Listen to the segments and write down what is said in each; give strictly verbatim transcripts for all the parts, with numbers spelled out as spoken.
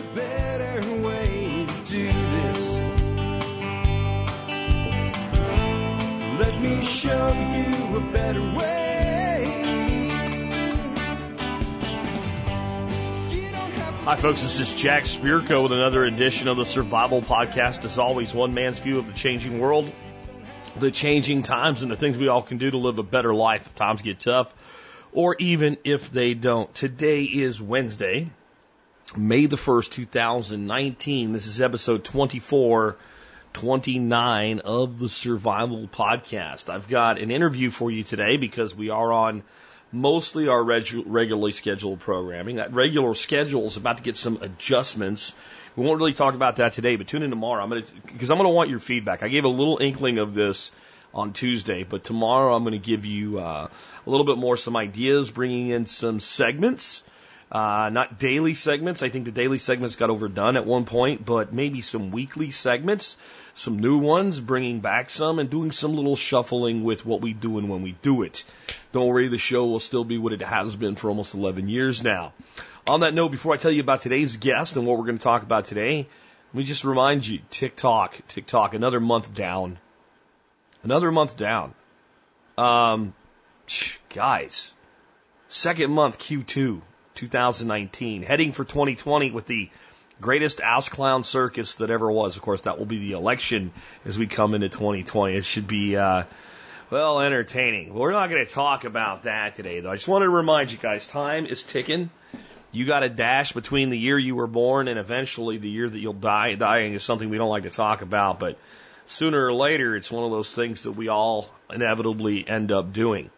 better way to do this. Let me show you a better way. Hi, folks. This is Jack Spirko with another edition of the Survival Podcast. As always, one man's view of the changing world, the changing times, and the things we all can do to live a better life if times get tough, or even if they don't. Today is Wednesday, May the first, two thousand nineteen. This is episode twenty-four twenty-nine of the Survival Podcast. I've got an interview for you today because we are on mostly our regu- regularly scheduled programming. That regular schedule is about to get some adjustments. We won't really talk about that today, but tune in tomorrow. I'm going to, because I'm going to want your feedback. I gave a little inkling of this on Tuesday, but tomorrow I'm going to give you uh, a little bit more some ideas, bringing in some segments, uh, not daily segments. I think the daily segments got overdone at one point, but maybe some weekly segments, some new ones, bringing back some and doing some little shuffling with what we do and when we do it. Don't worry, the show will still be what it has been for almost eleven years now. On that note, before I tell you about today's guest and what we're going to talk about today, let me just remind you, TikTok, TikTok, another month down. Another month down. Um, guys, second month Q two, twenty nineteen, heading for twenty twenty with the greatest ass clown circus that ever was. Of course, that will be the election as we come into twenty twenty. It should be, uh, well, entertaining. We're not going to talk about that today, though. I just wanted to remind you guys, time is ticking. You got a dash between the year you were born and eventually the year that you'll die. Dying is something we don't like to talk about, but sooner or later, it's one of those things that we all inevitably end up doing.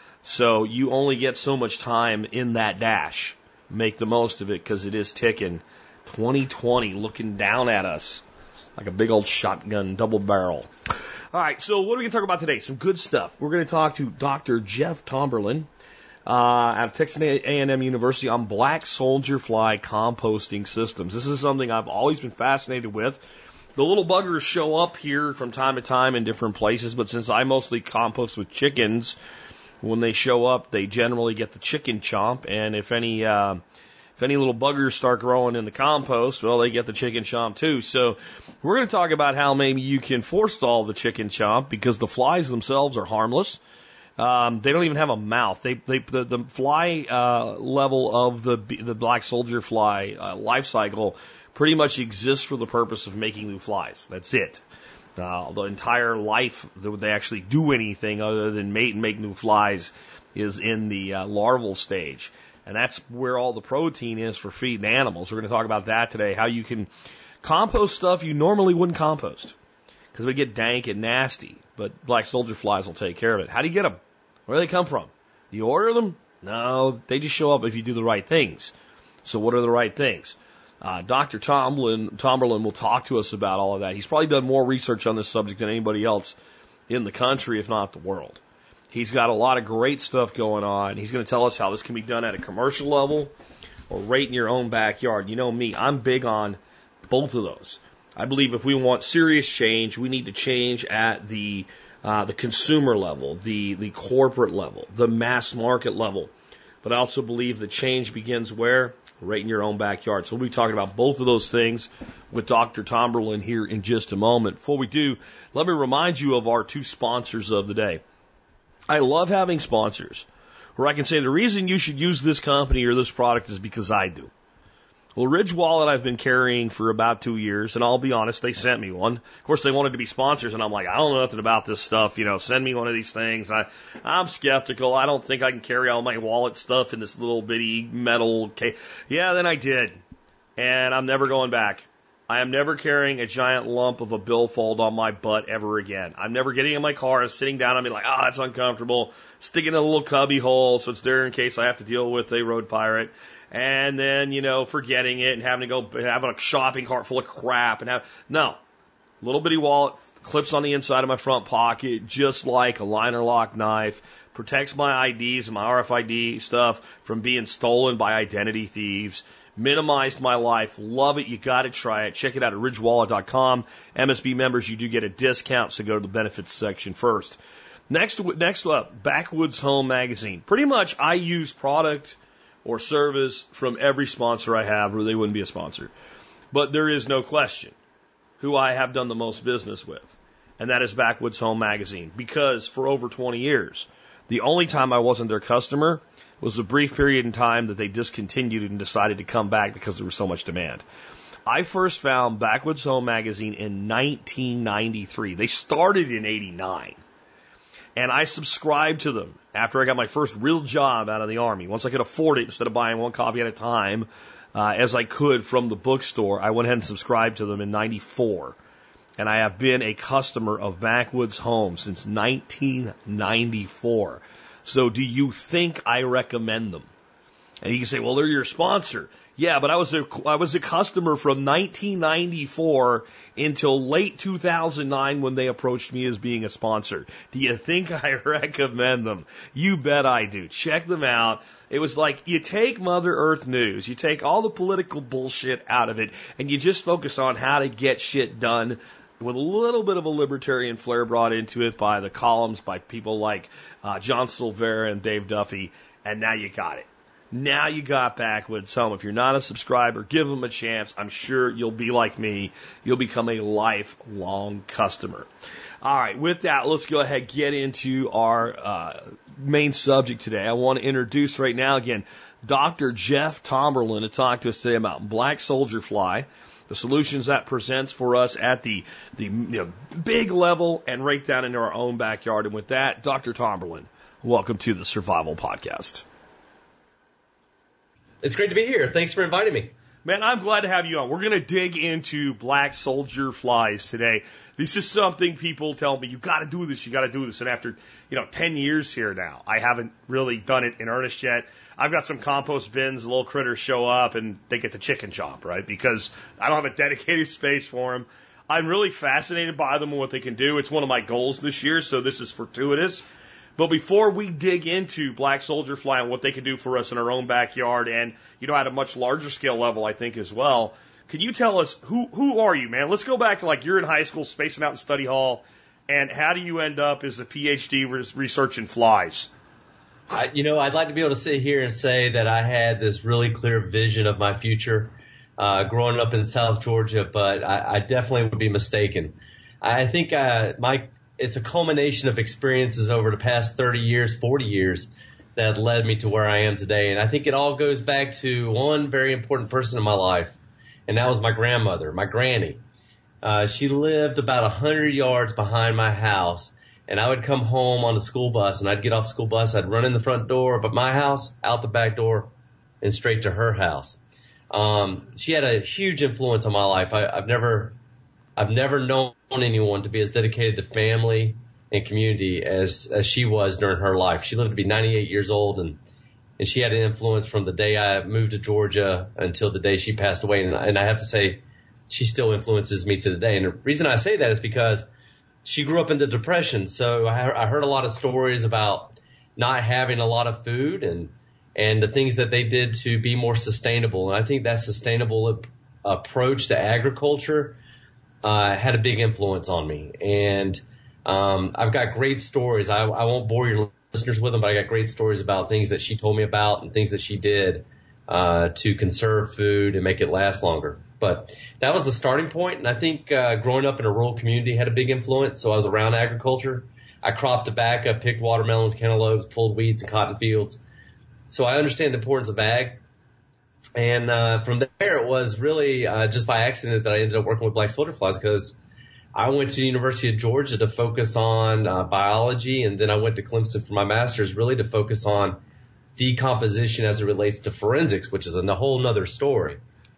So you only get so much time in that dash. Make the most of it because it is ticking. twenty twenty looking down at us like a big old shotgun double barrel. All right, so what are we going to talk about today? Some good stuff. We're going to talk to Doctor Jeff Tomberlin uh, out of Texas A and M University on black soldier fly composting systems. This is something I've always been fascinated with. The little buggers show up here from time to time in different places, but since I mostly compost with chickens, when they show up, they generally get the chicken chomp, and if any... Uh, If any little buggers start growing in the compost, well, they get the chicken chomp too. So we're going to talk about how maybe you can forestall the chicken chomp because the flies themselves are harmless. Um, they don't even have a mouth. They, they, the, the fly uh, level of the the black soldier fly uh, life cycle pretty much exists for the purpose of making new flies. That's it. Uh, the entire life that they actually do anything other than mate and make new flies is in the uh, larval stage. And that's where all the protein is for feeding animals. We're going to talk about that today, how you can compost stuff you normally wouldn't compost because we get dank and nasty, but black soldier flies will take care of it. How do you get them? Where do they come from? Do you order them? No, they just show up if you do the right things. So what are the right things? Uh, Doctor Tomberlin, Tomberlin will talk to us about all of that. He's probably done more research on this subject than anybody else in the country, if not the world. He's got a lot of great stuff going on. He's going to tell us how this can be done at a commercial level or right in your own backyard. You know me, I'm big on both of those. I believe if we want serious change, we need to change at the uh, the consumer level, the, the corporate level, the mass market level. But I also believe that change begins where? Right in your own backyard. So we'll be talking about both of those things with Doctor Tomberlin here in just a moment. Before we do, let me remind you of our two sponsors of the day. I love having sponsors where I can say the reason you should use this company or this product is because I do. Well, Ridge Wallet I've been carrying for about two years, and I'll be honest, they sent me one. Of course, they wanted to be sponsors, and I'm like, I don't know nothing about this stuff. You know, send me one of these things. I, I'm skeptical. I don't think I can carry all my wallet stuff in this little bitty metal case. Yeah, then I did, and I'm never going back. I am never carrying a giant lump of a billfold on my butt ever again. I'm never getting in my car and sitting down and being like, ah, oh, that's uncomfortable. Sticking in a little cubby hole so it's there in case I have to deal with a road pirate. And then, you know, forgetting it and having to go have a shopping cart full of crap and have, no. Little bitty wallet, clips on the inside of my front pocket, just like a liner lock knife, protects my I Ds and my R F I D stuff from being stolen by identity thieves. Minimized my life. Love it. You got to try it. Check it out at ridge wallet dot com. M S B members, you do get a discount, so go to the benefits section first. Next, next up, Backwoods Home Magazine. Pretty much I use product or service from every sponsor I have, or they wouldn't be a sponsor. But there is no question who I have done the most business with, and that is Backwoods Home Magazine, because for over twenty years, the only time I wasn't their customer was a brief period in time that they discontinued and decided to come back because there was so much demand. I first found Backwoods Home Magazine in nineteen ninety-three. They started in eighty-nine. And I subscribed to them after I got my first real job out of the Army. Once I could afford it, instead of buying one copy at a time, uh, as I could from the bookstore, I went ahead and subscribed to them in ninety-four. And I have been a customer of Backwoods Home since nineteen ninety-four. So do you think I recommend them? And you can say, well, they're your sponsor. Yeah, but I was a, I was a customer from nineteen ninety-four until late two thousand nine when they approached me as being a sponsor. Do you think I recommend them? You bet I do. Check them out. It was like you take Mother Earth News, you take all the political bullshit out of it, and you just focus on how to get shit done with a little bit of a libertarian flair brought into it by the columns by people like uh, John Silvera and Dave Duffy, and now you got it. Now you got Backwoods Home. If you're not a subscriber, give them a chance. I'm sure you'll be like me. You'll become a lifelong customer. All right, with that, let's go ahead and get into our uh, main subject today. I want to introduce right now, again, Doctor Jeff Tomberlin to talk to us today about black soldier fly, the solutions that presents for us at the, the you know, big level and right down into our own backyard. And with that, Doctor Tomberlin, welcome to the Survival Podcast. It's great to be here. Thanks for inviting me. Man, I'm glad to have you on. We're going to dig into black soldier flies today. This is something people tell me, you got to do this, you got to do this. And after, you know, ten years here now, I haven't really done it in earnest yet. I've got some compost bins, little critters show up and they get the chicken chomp, right? Because I don't have a dedicated space for them. I'm really fascinated by them and what they can do. It's one of my goals this year, so this is fortuitous. But before we dig into black soldier fly and what they can do for us in our own backyard and, you know, at a much larger scale level, I think, as well, can you tell us, who who are you, man? Let's go back to, like, you're in high school, spacing out in study hall, and how do you end up as a P H D researching flies? I, you know, I'd like to be able to sit here and say that I had this really clear vision of my future uh, growing up in South Georgia, but I, I definitely would be mistaken. I think uh, my it's a culmination of experiences over the past thirty years, forty years that led me to where I am today. And I think it all goes back to one very important person in my life, and that was my grandmother, my granny. Uh, she lived about a hundred yards behind my house, and I would come home on the school bus, and I'd get off the school bus, I'd run in the front door of my house, out the back door, and straight to her house. Um, she had a huge influence on my life. I, I've never I've never known anyone to be as dedicated to family and community as, as she was during her life. She lived to be ninety-eight years old, and, and she had an influence from the day I moved to Georgia until the day she passed away. And, and I have to say, she still influences me to today. And the reason I say that is because she grew up in the Depression. So I, I heard a lot of stories about not having a lot of food and, and the things that they did to be more sustainable. And I think that sustainable ap- approach to agriculture Uh, had a big influence on me. And um, I've got great stories. I, I won't bore your listeners with them, but I got great stories about things that she told me about and things that she did uh, to conserve food and make it last longer. But that was the starting point. And I think uh, growing up in a rural community had a big influence. So I was around agriculture. I cropped tobacco, picked watermelons, cantaloupes, pulled weeds and cotton fields. So I understand the importance of ag. And uh, from there, it was really uh, just by accident that I ended up working with black soldier flies, because I went to the University of Georgia to focus on uh, biology, and then I went to Clemson for my master's, really to focus on decomposition as it relates to forensics, which is a whole nother story.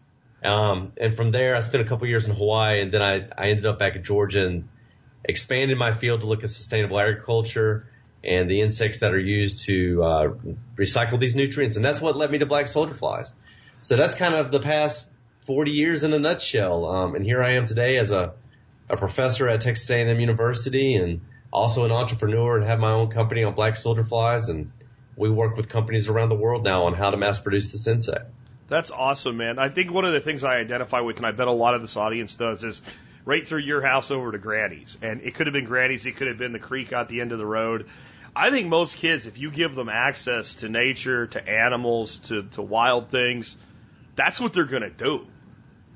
Um, and from there, I spent a couple years in Hawaii, and then I, I ended up back in Georgia and expanded my field to look at sustainable agriculture and the insects that are used to uh, recycle these nutrients. And that's what led me to black soldier flies. So that's kind of the past forty years in a nutshell. Um, and here I am today as a, a professor at Texas A and M University, and also an entrepreneur, and have my own company on black soldier flies. And we work with companies around the world now on how to mass produce this insect. That's awesome, man. I think one of the things I identify with, and I bet a lot of this audience does, is right through your house over to Granny's. And it could have been Granny's, it could have been the creek out the end of the road. I think most kids, if you give them access to nature, to animals, to, to wild things, that's what they're going to do.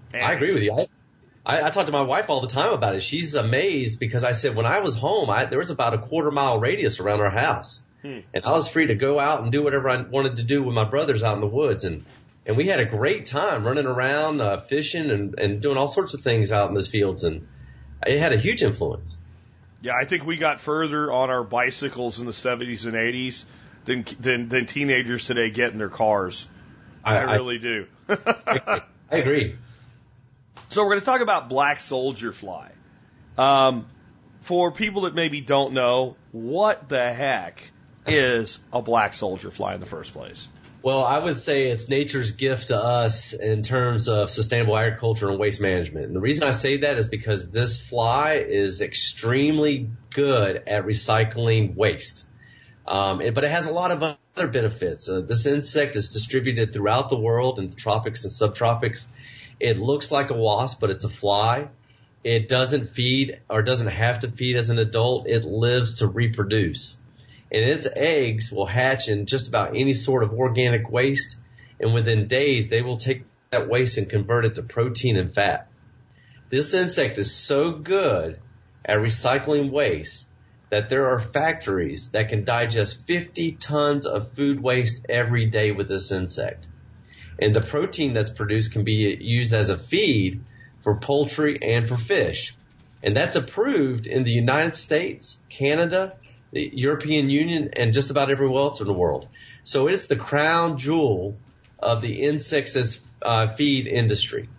And I agree with you. I, I, I talk to my wife all the time about it. She's amazed because I said when I was home, I, there was about a quarter mile radius around our house. Hmm. And I was free to go out and do whatever I wanted to do with my brothers out in the woods. And, and we had a great time running around, uh, fishing and, and doing all sorts of things out in those fields. And it had a huge influence. Yeah, I think we got further on our bicycles in the seventies and eighties than than, than teenagers today get in their cars. I, I really I, do. I, I agree. So we're going to talk about black soldier fly. Um, for people that maybe don't know, what the heck is a black soldier fly in the first place? Well, I would say it's nature's gift to us in terms of sustainable agriculture and waste management. And the reason I say that is because this fly is extremely good at recycling waste. Um, but it has a lot of other benefits. Uh, this insect is distributed throughout the world in the tropics and subtropics. It looks like a wasp, but it's a fly. It doesn't feed or doesn't have to feed as an adult. It lives to reproduce. And its eggs will hatch in just about any sort of organic waste. And within days, they will take that waste and convert it to protein and fat. This insect is so good at recycling waste that there are factories that can digest fifty tons of food waste every day with this insect. And the protein that's produced can be used as a feed for poultry and for fish. And that's approved in the United States, Canada, the European Union, and just about everywhere else in the world. So it's the crown jewel of the insects as uh, feed industry.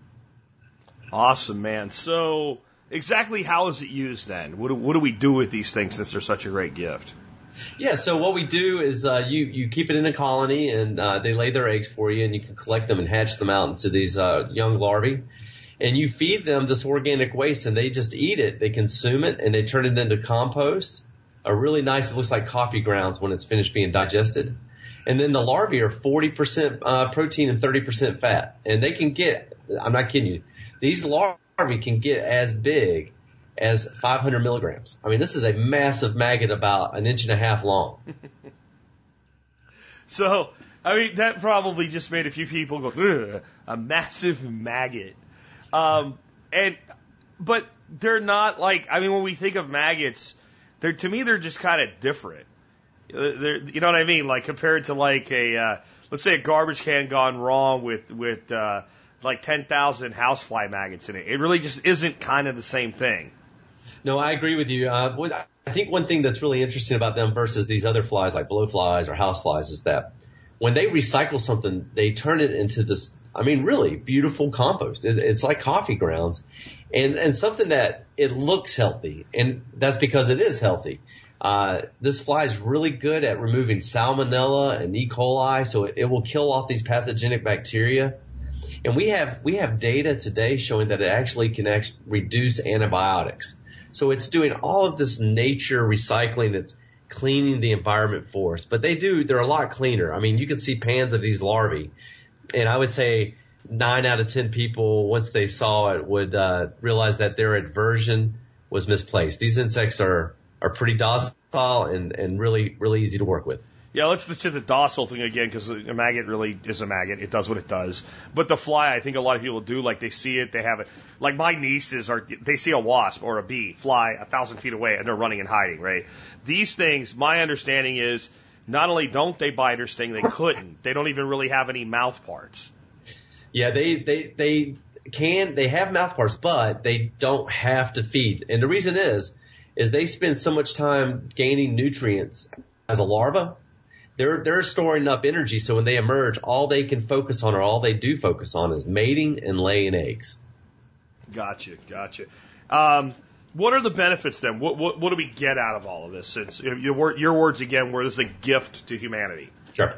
Awesome, man. So exactly how is it used then? What do, what do we do with these things since they're such a great gift? Yeah, so what we do is uh, you, you keep it in a colony, and uh, they lay their eggs for you, and you can collect them and hatch them out into these uh, young larvae. And you feed them this organic waste, and they just eat it. They consume it, and they turn it into compost. A really nice, it looks like coffee grounds when it's finished being digested. And then the larvae are forty percent uh, protein and thirty percent fat. And they can get, I'm not kidding you, these larvae can get as big as five hundred milligrams. I mean, this is a massive maggot about an inch and a half long. So, I mean, that probably just made a few people go, ugh, a massive maggot. Um, and, but they're not like, I mean, when we think of maggots, they're, to me, they're just kind of different. They're, you know what I mean? Like compared to like a, uh, let's say a garbage can gone wrong with, with, uh, like ten thousand housefly maggots in it. It really just isn't kind of the same thing. No, I agree with you. Uh, what, I think one thing that's really interesting about them versus these other flies like blowflies or houseflies is that when they recycle something, they turn it into this, I mean, really beautiful compost. It, it's like coffee grounds and, and something that it looks healthy. And that's because it is healthy. Uh, this fly is really good at removing salmonella and E. coli, so it, it will kill off these pathogenic bacteria. And we have, we have data today showing that it actually can actually reduce antibiotics. So it's doing all of this nature recycling that's cleaning the environment for us. But they do, they're a lot cleaner. I mean, you can see pans of these larvae, and I would say nine out of ten people, once they saw it, would uh, realize that their aversion was misplaced. These insects are, are pretty docile and, and really, really easy to work with. Yeah, let's let's hit the docile thing again because a maggot really is a maggot. It does what it does. But the fly, I think a lot of people do. Like they see it, they have it. Like my nieces are, they see a wasp or a bee fly a thousand feet away and they're running and hiding. Right? These things, my understanding is, not only don't they bite or sting, they couldn't. They don't even really have any mouth parts. Yeah, they they they can. They have mouth parts, but they don't have to feed. And the reason is, is they spend so much time gaining nutrients as a larva. They're, they're storing up energy, so when they emerge, all they can focus on or all they do focus on is mating and laying eggs. Gotcha, gotcha. Um, what are the benefits then? What, what, what do we get out of all of this? Since your, your words again were this is a gift to humanity. Sure.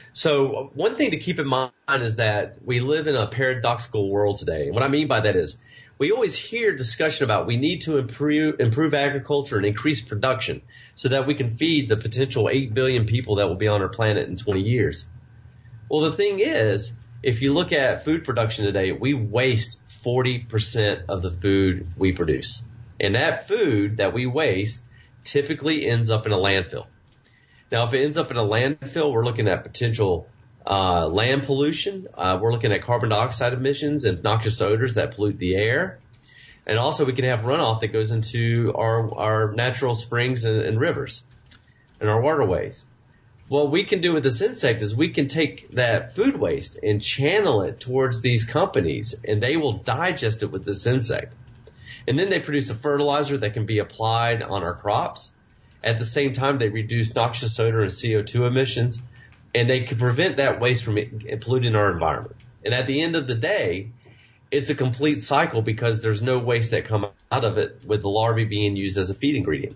So one thing to keep in mind is that we live in a paradoxical world today. And what I mean by that is we always hear discussion about we need to improve, improve agriculture and increase production so that we can feed the potential eight billion people that will be on our planet in twenty years. Well, the thing is, if you look at food production today, we waste forty percent of the food we produce. And that food that we waste typically ends up in a landfill. Now, if it ends up in a landfill, we're looking at potential uh, land pollution. Uh, we're looking at carbon dioxide emissions and noxious odors that pollute the air. And also we can have runoff that goes into our, our natural springs and, and rivers and our waterways. What we can do with this insect is we can take that food waste and channel it towards these companies, and they will digest it with this insect. And then they produce a fertilizer that can be applied on our crops. At the same time, they reduce noxious odor and C O two emissions, and they can prevent that waste from polluting our environment. And at the end of the day, it's a complete cycle because there's no waste that comes out of it with the larvae being used as a feed ingredient.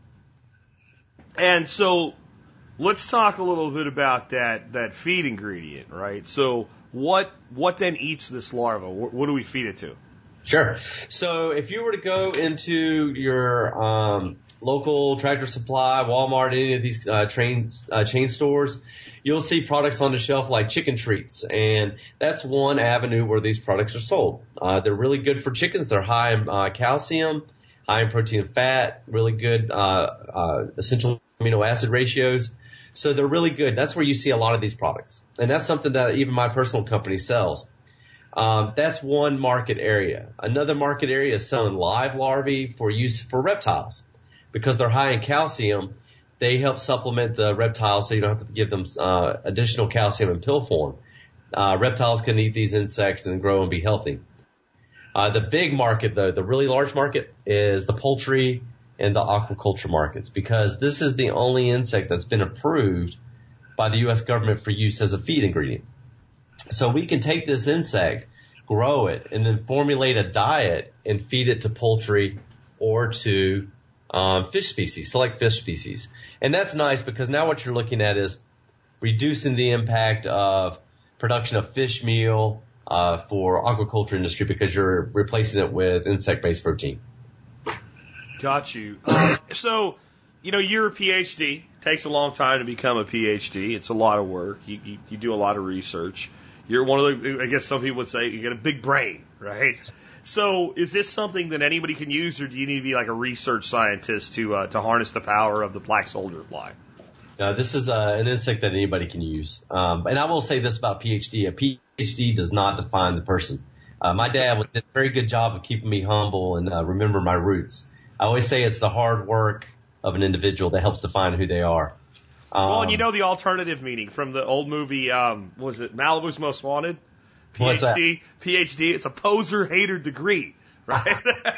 And so let's talk a little bit about that, that feed ingredient, right? So what what then eats this larva? What, what do we feed it to? Sure. So if you were to go into your um, local Tractor Supply, Walmart, any of these uh, train, uh, chain stores, you'll see products on the shelf like chicken treats, and that's one avenue where these products are sold. Uh, they're really good for chickens. They're high in uh, calcium, high in protein and fat, really good uh, uh, essential amino acid ratios. So they're really good. That's where you see a lot of these products. And that's something that even my personal company sells. Um, that's one market area. Another market area is selling live larvae for use for reptiles. Because they're high in calcium, they help supplement the reptiles so you don't have to give them uh, additional calcium in pill form. Uh, reptiles can eat these insects and grow and be healthy. Uh, the big market, though, the really large market, is the poultry and the aquaculture markets, because this is the only insect that's been approved by the U S government for use as a feed ingredient. So we can take this insect, grow it, and then formulate a diet and feed it to poultry or to um, fish species, select fish species. And that's nice because now what you're looking at is reducing the impact of production of fish meal uh, for aquaculture industry because you're replacing it with insect-based protein. Got you. Uh, so, you know, you're a PhD. Takes a long time to become a PhD. It's a lot of work. You, you, you do a lot of research. You're one of the, I guess some people would say you got a big brain, right? So is this something that anybody can use, or do you need to be like a research scientist to uh, to harness the power of the black soldier fly? Uh, this is uh, an insect that anybody can use. Um, and I will say this about PhD. A PhD does not define the person. Uh, my dad did a very good job of keeping me humble and uh, remember my roots. I always say it's the hard work of an individual that helps define who they are. Um, well, and you know the alternative meaning from the old movie, um, was it Malibu's Most Wanted? PhD, What's that? PhD, it's a poser hater degree, right?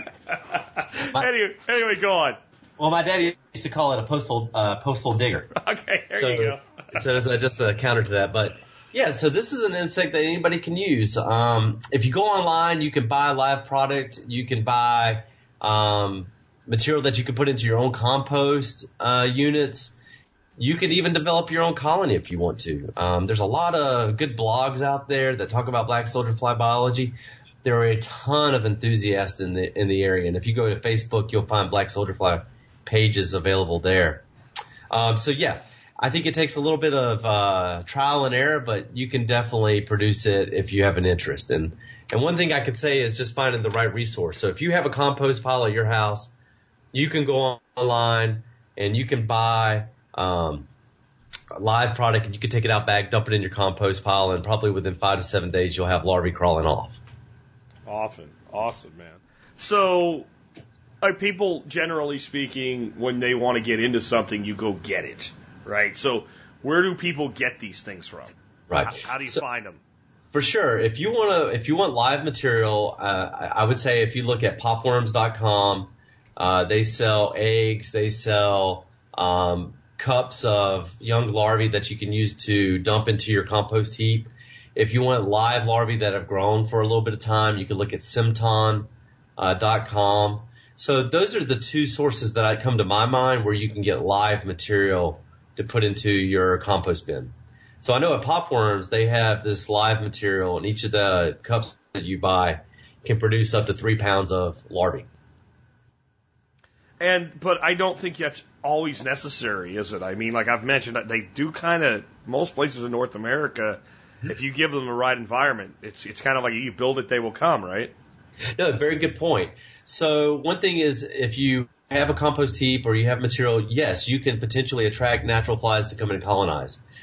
my, anyway, anyway, go on. Well, my daddy used to call it a postal uh, postal digger. Okay, there so, you go. so it's uh, just a counter to that. But yeah, so this is an insect that anybody can use. Um, if you go online, you can buy a live product. You can buy um, material that you can put into your own compost uh, units. You can even develop your own colony if you want to. Um, there's a lot of good blogs out there that talk about black soldier fly biology. There are a ton of enthusiasts in the in the area, and if you go to Facebook, you'll find black soldier fly pages available there. Um, so yeah, I think it takes a little bit of uh, trial and error, but you can definitely produce it if you have an interest. And and one thing I could say is just finding the right resource. So if you have a compost pile at your house, you can go online and you can buy um, a live product, and you can take it out back, dump it in your compost pile, and probably within five to seven days you'll have larvae crawling off. Often. Awesome, man. So, are people, generally speaking, when they want to get into something, you go get it, right? So, where do people get these things from? Right. How, how do you so, find them? For sure. If you want to, if you want live material, uh, I would say if you look at popworms dot com, uh, they sell eggs, they sell um, cups of young larvae that you can use to dump into your compost heap. If you want live larvae that have grown for a little bit of time, you can look at Simton dot com. So those are the two sources that I come to my mind where you can get live material to put into your compost bin. So I know at Popworms, they have this live material, and each of the cups that you buy can produce up to three pounds of larvae. And, but I don't think that's always necessary, is it? I mean, like I've mentioned, they do kind of, most places in North America, if you give them the right environment, it's it's kind of like you build it, they will come, right? No, very good point. So one thing is, if you have a compost heap or you have material, yes, you can potentially attract natural flies to come and colonize.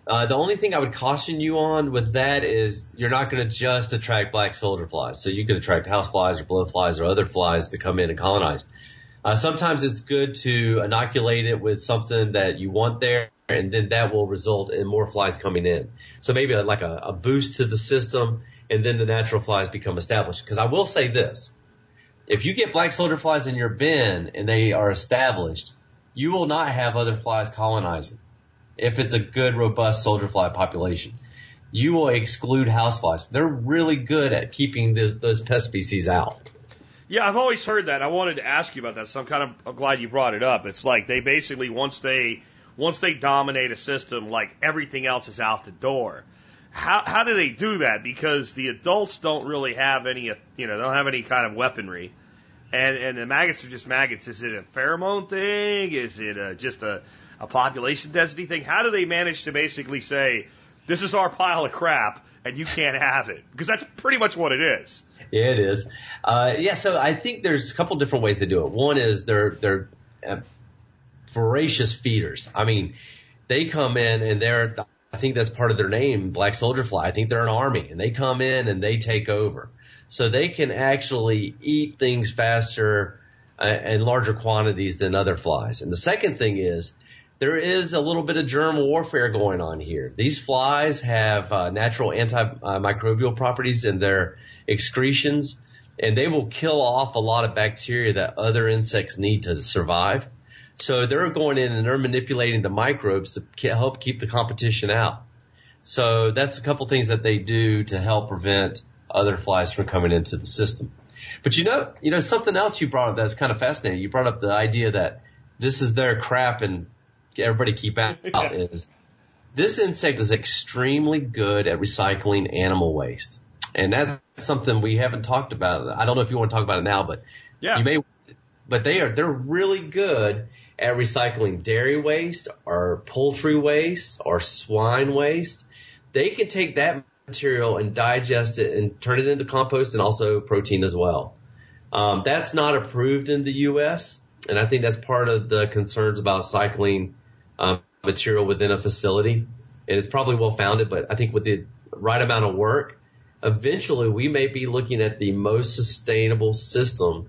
Uh, the only thing I would caution you on with that is you're not going to just attract black soldier flies. So you can attract house flies or blowflies or other flies to come in and colonize. Uh, sometimes it's good to inoculate it with something that you want there, and then that will result in more flies coming in. So maybe like a, a boost to the system, and then the natural flies become established. Because I will say this. If you get black soldier flies in your bin and they are established, you will not have other flies colonizing. If it's a good, robust soldier fly population, you will exclude house flies. They're really good at keeping this, those pest species out. Yeah, I've always heard that. I wanted to ask you about that, so I'm kind of I'm glad you brought it up. It's like they basically, once they once they dominate a system, like everything else is out the door. How how do they do that? Because the adults don't really have any, you know, they don't have any kind of weaponry, and and the maggots are just maggots. Is it a pheromone thing? Is it a, just a a population density thing? How do they manage to basically say, this is our pile of crap and you can't have it? Because that's pretty much what it is. Yeah, it is. Uh, yeah, so I think there's a couple different ways to do it. One is they're, they're uh, voracious feeders. I mean, they come in and they're, I think that's part of their name, black soldier fly. I think they're an army and they come in and they take over. So they can actually eat things faster uh, in larger quantities than other flies. And the second thing is, there is a little bit of germ warfare going on here. These flies have uh, natural antimicrobial properties in their excretions, and they will kill off a lot of bacteria that other insects need to survive. So they're going in and they're manipulating the microbes to help keep the competition out. So that's a couple things that they do to help prevent other flies from coming into the system. But you know, you know something else you brought up that's kind of fascinating. You brought up the idea that this is their crap and everybody keep out is this insect is extremely good at recycling animal waste. And that's something we haven't talked about. I don't know if you want to talk about it now, but yeah. you may, but they are, they're really good at recycling dairy waste or poultry waste or swine waste. They can take that material and digest it and turn it into compost and also protein as well. Um, that's not approved in the U S, and I think that's part of the concerns about cycling Um, material within a facility, and it's probably well founded, but I think with the right amount of work, eventually we may be looking at the most sustainable system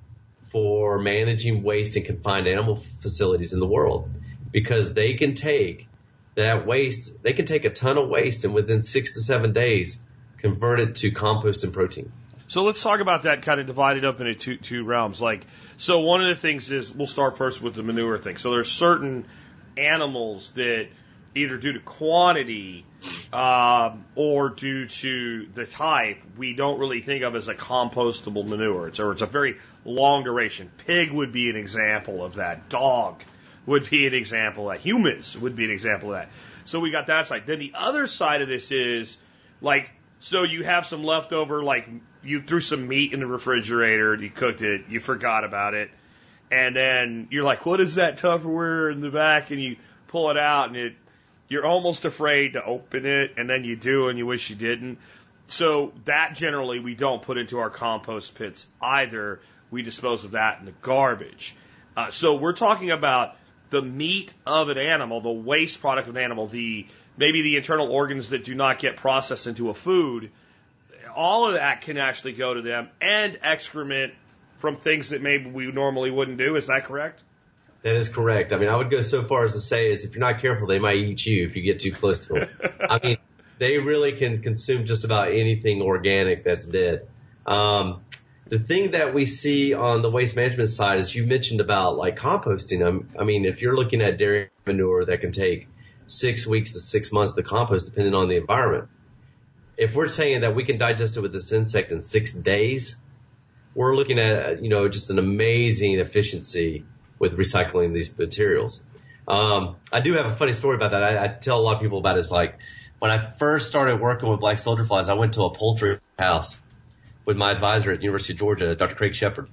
for managing waste in confined animal facilities in the world, because they can take that waste, they can take a ton of waste and within six to seven days convert it to compost and protein. So let's talk about that kind of divided up into two, two realms. Like, so one of the things is, we'll start first with the manure thing. So there's certain animals that either due to quantity um, or due to the type, we don't really think of as a compostable manure. It's, or it's a very long duration. Pig would be an example of that. Dog would be an example of that. Humans would be an example of that. So we got that side. Then the other side of this is, like, so you have some leftover, like, you threw some meat in the refrigerator, you cooked it, you forgot about it. And then you're like, what is that Tupperware in the back? And you pull it out and it, you're almost afraid to open it. And then you do and you wish you didn't. So that generally we don't put into our compost pits either. We dispose of that in the garbage. Uh, so we're talking about the meat of an animal, the waste product of an animal, the maybe the internal organs that do not get processed into a food. All of that can actually go to them, and excrement from things that maybe we normally wouldn't do. Is that correct? That is correct. I mean, I would go so far as to say is if you're not careful, they might eat you if you get too close to them. I mean, they really can consume just about anything organic that's dead. Um, the thing that we see on the waste management side is you mentioned about like composting. Um, I mean, if you're looking at dairy manure that can take six weeks to six months to compost depending on the environment. If we're saying that we can digest it with this insect in six days, we're looking at, you know, just an amazing efficiency with recycling these materials. Um, I do have a funny story about that. I, I tell a lot of people about it. It's like when I first started working with black soldier flies, I went to a poultry house with my advisor at the University of Georgia, Doctor Craig Shepard.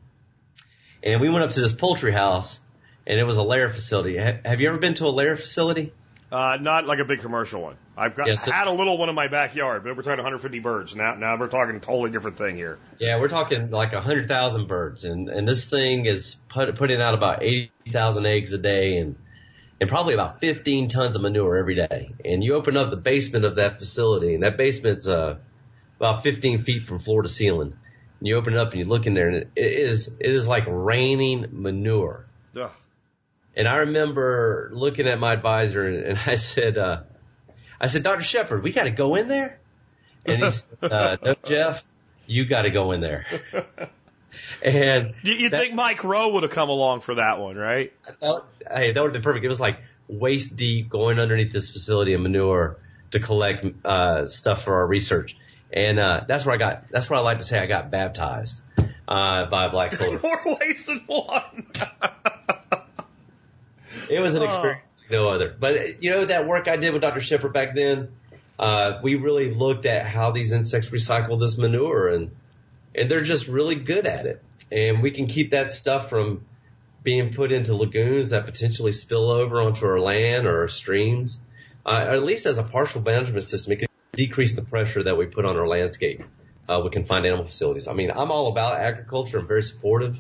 And we went up to this poultry house, and it was a lair facility. Ha- have you ever been to a lair facility? Uh, not like a big commercial one. I've got, yes, had a little one in my backyard, but we're talking one hundred fifty birds. Now, now we're talking a totally different thing here. Yeah, we're talking like one hundred thousand birds, and, and this thing is put, putting out about eighty thousand eggs a day, and and probably about fifteen tons of manure every day. And you open up the basement of that facility, and that basement's uh, about fifteen feet from floor to ceiling. And you open it up and you look in there, and it is it is like raining manure. Ugh. And I remember looking at my advisor, and, and I said, uh, I said, Doctor Shepard, we got to go in there. And he said, uh, no, Jeff, you got to go in there. And you, you that, think Mike Rowe would have come along for that one, right? That, hey, that would have been perfect. It was like waist deep going underneath this facility of manure to collect uh, stuff for our research. And uh, that's where I got. That's where I like to say I got baptized uh, by a black soldier. More ways than one. It was an experience like no other. But you know that work I did with Doctor Shepard back then. Uh, we really looked at how these insects recycle this manure, and and they're just really good at it. And we can keep that stuff from being put into lagoons that potentially spill over onto our land or our streams. Uh, or at least as a partial management system, it can decrease the pressure that we put on our landscape uh, with confined animal facilities. I mean, I'm all about agriculture. I'm very supportive.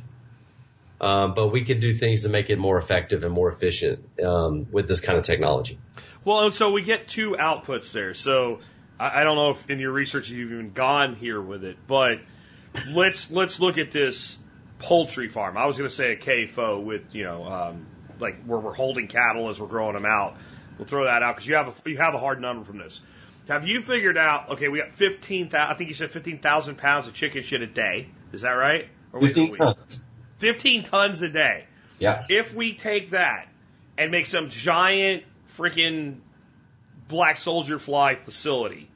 Um, but we could do things to make it more effective and more efficient um, with this kind of technology. Well, and so we get two outputs there. So I, I don't know if in your research you've even gone here with it, but let's let's look at this poultry farm. I was going to say a K F O with, you know, um, like where we're holding cattle as we're growing them out. We'll throw that out because you have a, you have a hard number from this. Have you figured out? Okay, we got fifteen thousand. I think you said fifteen thousand pounds of chicken shit a day. Is that right? Or Fifteen tons. Fifteen tons a day. Yeah. If we take that and make some giant freaking black soldier fly facility,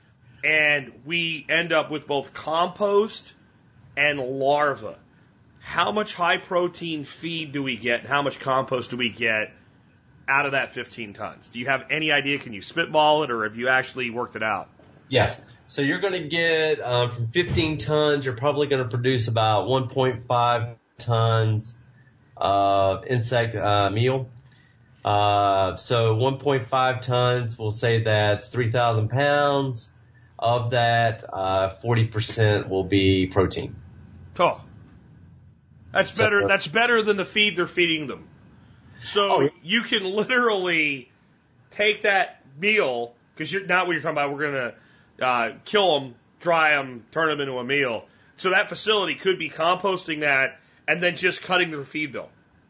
and we end up with both compost and larva, how much high protein feed do we get, and how much compost do we get out of that fifteen tons? Do you have any idea? Can you spitball it, or have you actually worked it out? Yes. So you're going to get um, from fifteen tons, you're probably going to produce about one point five tons of insect uh, meal. Uh, so one point five tons, we'll say that's three thousand pounds. Of that, uh, forty percent will be protein. Oh, that's So, better. uh, That's better than the feed they're feeding them. So Oh, yeah. you can literally take that meal, because you're not what you're talking about. We're going to uh, kill them, dry them, turn them into a meal. So that facility could be composting that and then just cutting their feed bill.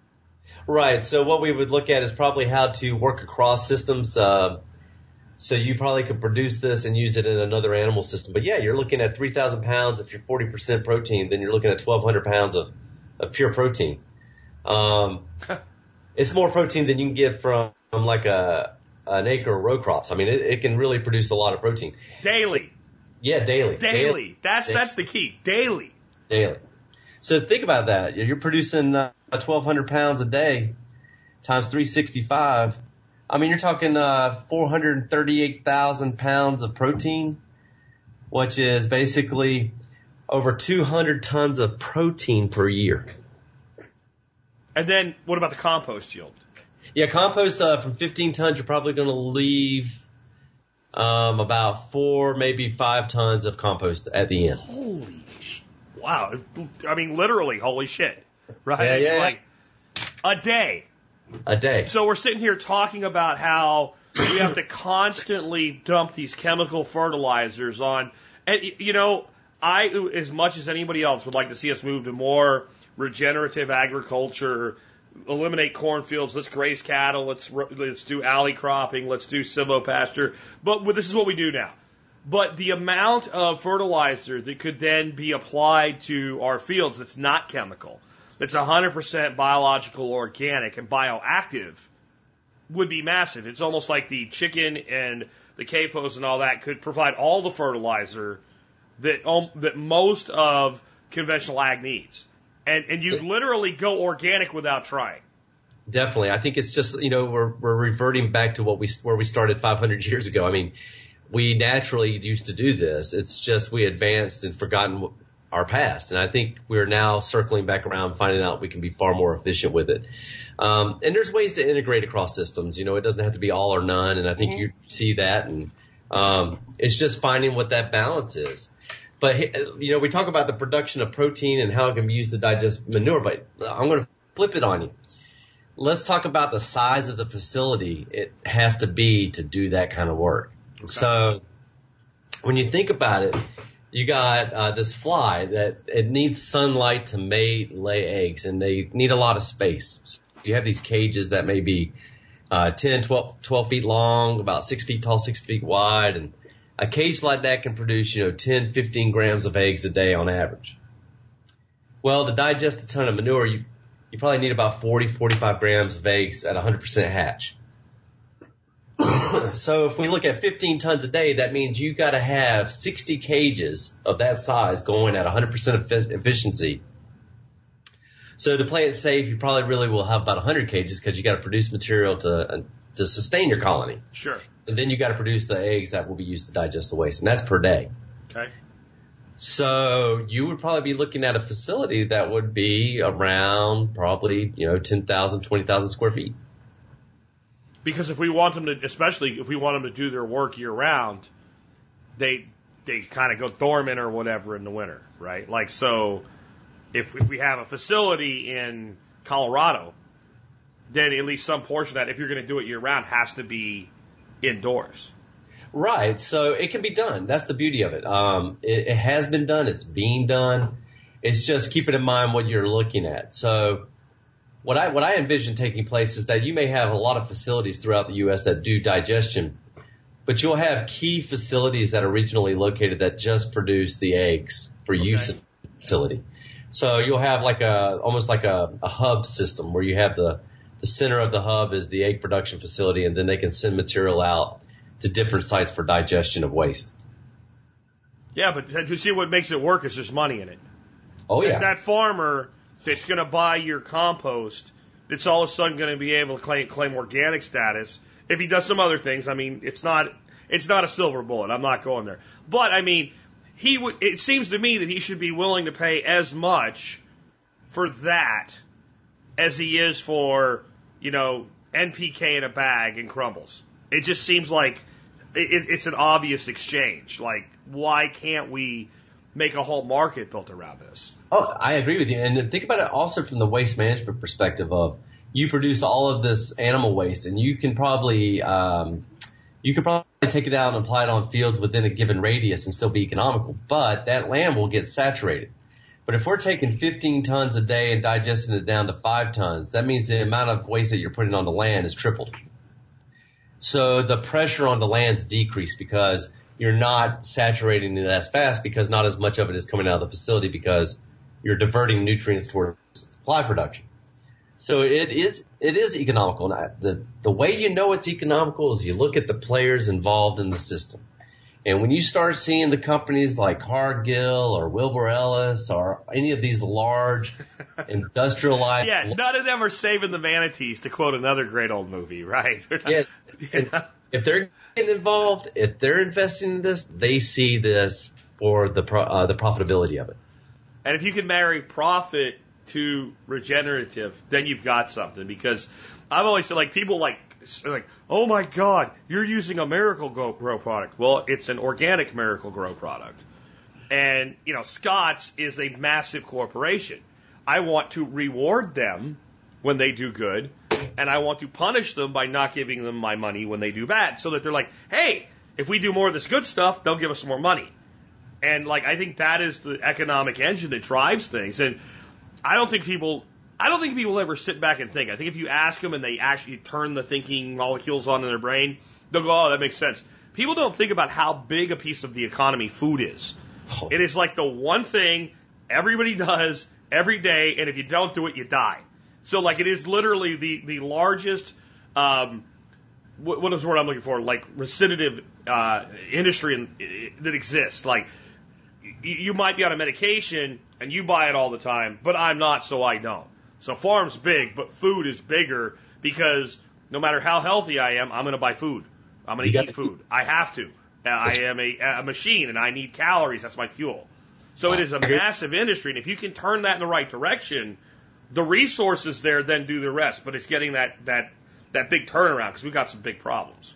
Right. So what we would look at is probably how to work across systems. Uh, so you probably could produce this and use it in another animal system. But yeah, you're looking at three thousand pounds. If you're forty percent protein, then you're looking at twelve hundred pounds of, of pure protein. Um, it's more protein than you can get from, from like a an acre of row crops. I mean, it, it can really produce a lot of protein. Daily. Yeah, daily. Daily. That's Daily. that's the key. Daily. Daily. So think about that. You're producing uh, twelve hundred pounds a day times three hundred sixty-five. I mean, you're talking uh, four hundred thirty-eight thousand pounds of protein, which is basically over two hundred tons of protein per year. And then what about the compost yield? Yeah, compost uh, from fifteen tons, you're probably going to leave um, about four, maybe five tons of compost at the end. Holy sh! Wow. I mean, literally, holy shit. Right? Yeah, yeah, yeah. Like, a day. A day. So we're sitting here talking about how we have to constantly dump these chemical fertilizers on. And, you know, I, as much as anybody else, would like to see us move to more regenerative agriculture, eliminate cornfields, let's graze cattle, let's let's do alley cropping, let's do silvopasture. But this is what we do now. But the amount of fertilizer that could then be applied to our fields that's not chemical, that's one hundred percent biological, organic, and bioactive would be massive. It's almost like the chicken and the K F Os and all that could provide all the fertilizer that um, that most of conventional ag needs. And and you literally go organic without trying. Definitely. I think it's just, you know, we're we're reverting back to what we where we started five hundred years ago. I mean, we naturally used to do this. It's just we advanced and forgotten our past. And I think we're now circling back around, finding out we can be far more efficient with it. Um, and there's ways to integrate across systems. You know, it doesn't have to be all or none. And I think mm-hmm. you see that. And um, it's just finding what that balance is. But, you know, we talk about the production of protein and how it can be used to digest manure, but I'm going to flip it on you. let's talk about the size of the facility it has to be to do that kind of work. Okay. So when you think about it, you got uh, this fly that it needs sunlight to mate and lay eggs, and they need a lot of space. So you have these cages that may be uh, ten, twelve, twelve feet long, about six feet tall, six feet wide, and a cage like that can produce, you know, ten, fifteen grams of eggs a day on average. Well, to digest a ton of manure, you, you probably need about forty, forty-five grams of eggs at one hundred percent hatch. So if we look at fifteen tons a day, that means you got to have sixty cages of that size going at one hundred percent efficiency. So to play it safe, you probably really will have about one hundred cages because you got to produce material to uh, to sustain your colony. Sure. And then you got to produce the eggs that will be used to digest the waste, and that's per day. Okay. So you would probably be looking at a facility that would be around probably, you know, ten thousand, twenty thousand square feet. Because if we want them to, especially if we want them to do their work year round, they they kind of go dormant or whatever in the winter, right? Like, so if if we have a facility in Colorado, then at least some portion of that, if you're going to do it year round, has to be indoors. Right. So it can be done. That's the beauty of it. Um, it, it has been done. It's being done. It's just keeping in mind what you're looking at. So what I, what I envision taking place is that you may have a lot of facilities throughout the U S that do digestion, but you'll have key facilities that are regionally located that just produce the eggs for okay. use in the facility. So you'll have like a, almost like a, a hub system where you have the, the center of the hub is the egg production facility, and then they can send material out to different sites for digestion of waste. Yeah, but to see what makes it work is there's money in it. Oh, yeah. That farmer that's going to buy your compost, that's all of a sudden going to be able to claim, claim organic status. If he does some other things, I mean, it's not it's not a silver bullet. I'm not going there. But, I mean, he would. It seems to me that he should be willing to pay as much for that as he is for, you know, N P K in a bag and crumbles. It just seems like it, it's an obvious exchange. Like, why can't we make a whole market built around this? Oh, I agree with you. And think about it also from the waste management perspective of you produce all of this animal waste, and you can probably um, you could probably take it out and apply it on fields within a given radius and still be economical. But that land will get saturated. But if we're taking fifteen tons a day and digesting it down to five tons, that means the amount of waste that you're putting on the land is tripled. So the pressure on the land's decreased because you're not saturating it as fast because not as much of it is coming out of the facility because you're diverting nutrients towards supply production. So it is it is economical. And I, the the way you know it's economical is you look at the players involved in the system. And when you start seeing the companies like Cargill or Wilbur Ellis or any of these large industrialized... Yeah, none of them are saving the manatees, to quote another great old movie, right? Yes. If they're getting involved, if they're investing in this, they see this for the pro, uh, the profitability of it. And if you can marry profit to regenerative, then you've got something. Because I've always said, like, people like, like, oh my God, you're using a Miracle-Gro product. Well, it's an organic Miracle-Gro product. And, you know, Scotts is a massive corporation. I want to reward them when they do good, and I want to punish them by not giving them my money when they do bad, so that they're like, hey, if we do more of this good stuff, they'll give us more money. And, like, I think that is the economic engine that drives things. And I don't think people... I don't think people ever sit back and think. I think if you ask them and they actually turn the thinking molecules on in their brain, they'll go, oh, that makes sense. People don't think about how big a piece of the economy food is. Oh. It is like the one thing everybody does every day, and if you don't do it, you die. So, like, it is literally the, the largest, um, what, what is the word I'm looking for? Like, recitative uh, industry in, that exists. Like, you, you might be on a medication, and you buy it all the time, but I'm not, so I don't. So farm's big, but food is bigger because no matter how healthy I am, I'm going to buy food. I'm going to eat food. I have to. I am a, a machine, and I need calories. That's my fuel. So it is a massive industry, and if you can turn that in the right direction, the resources there then do the rest. But it's getting that that that big turnaround because we've got some big problems.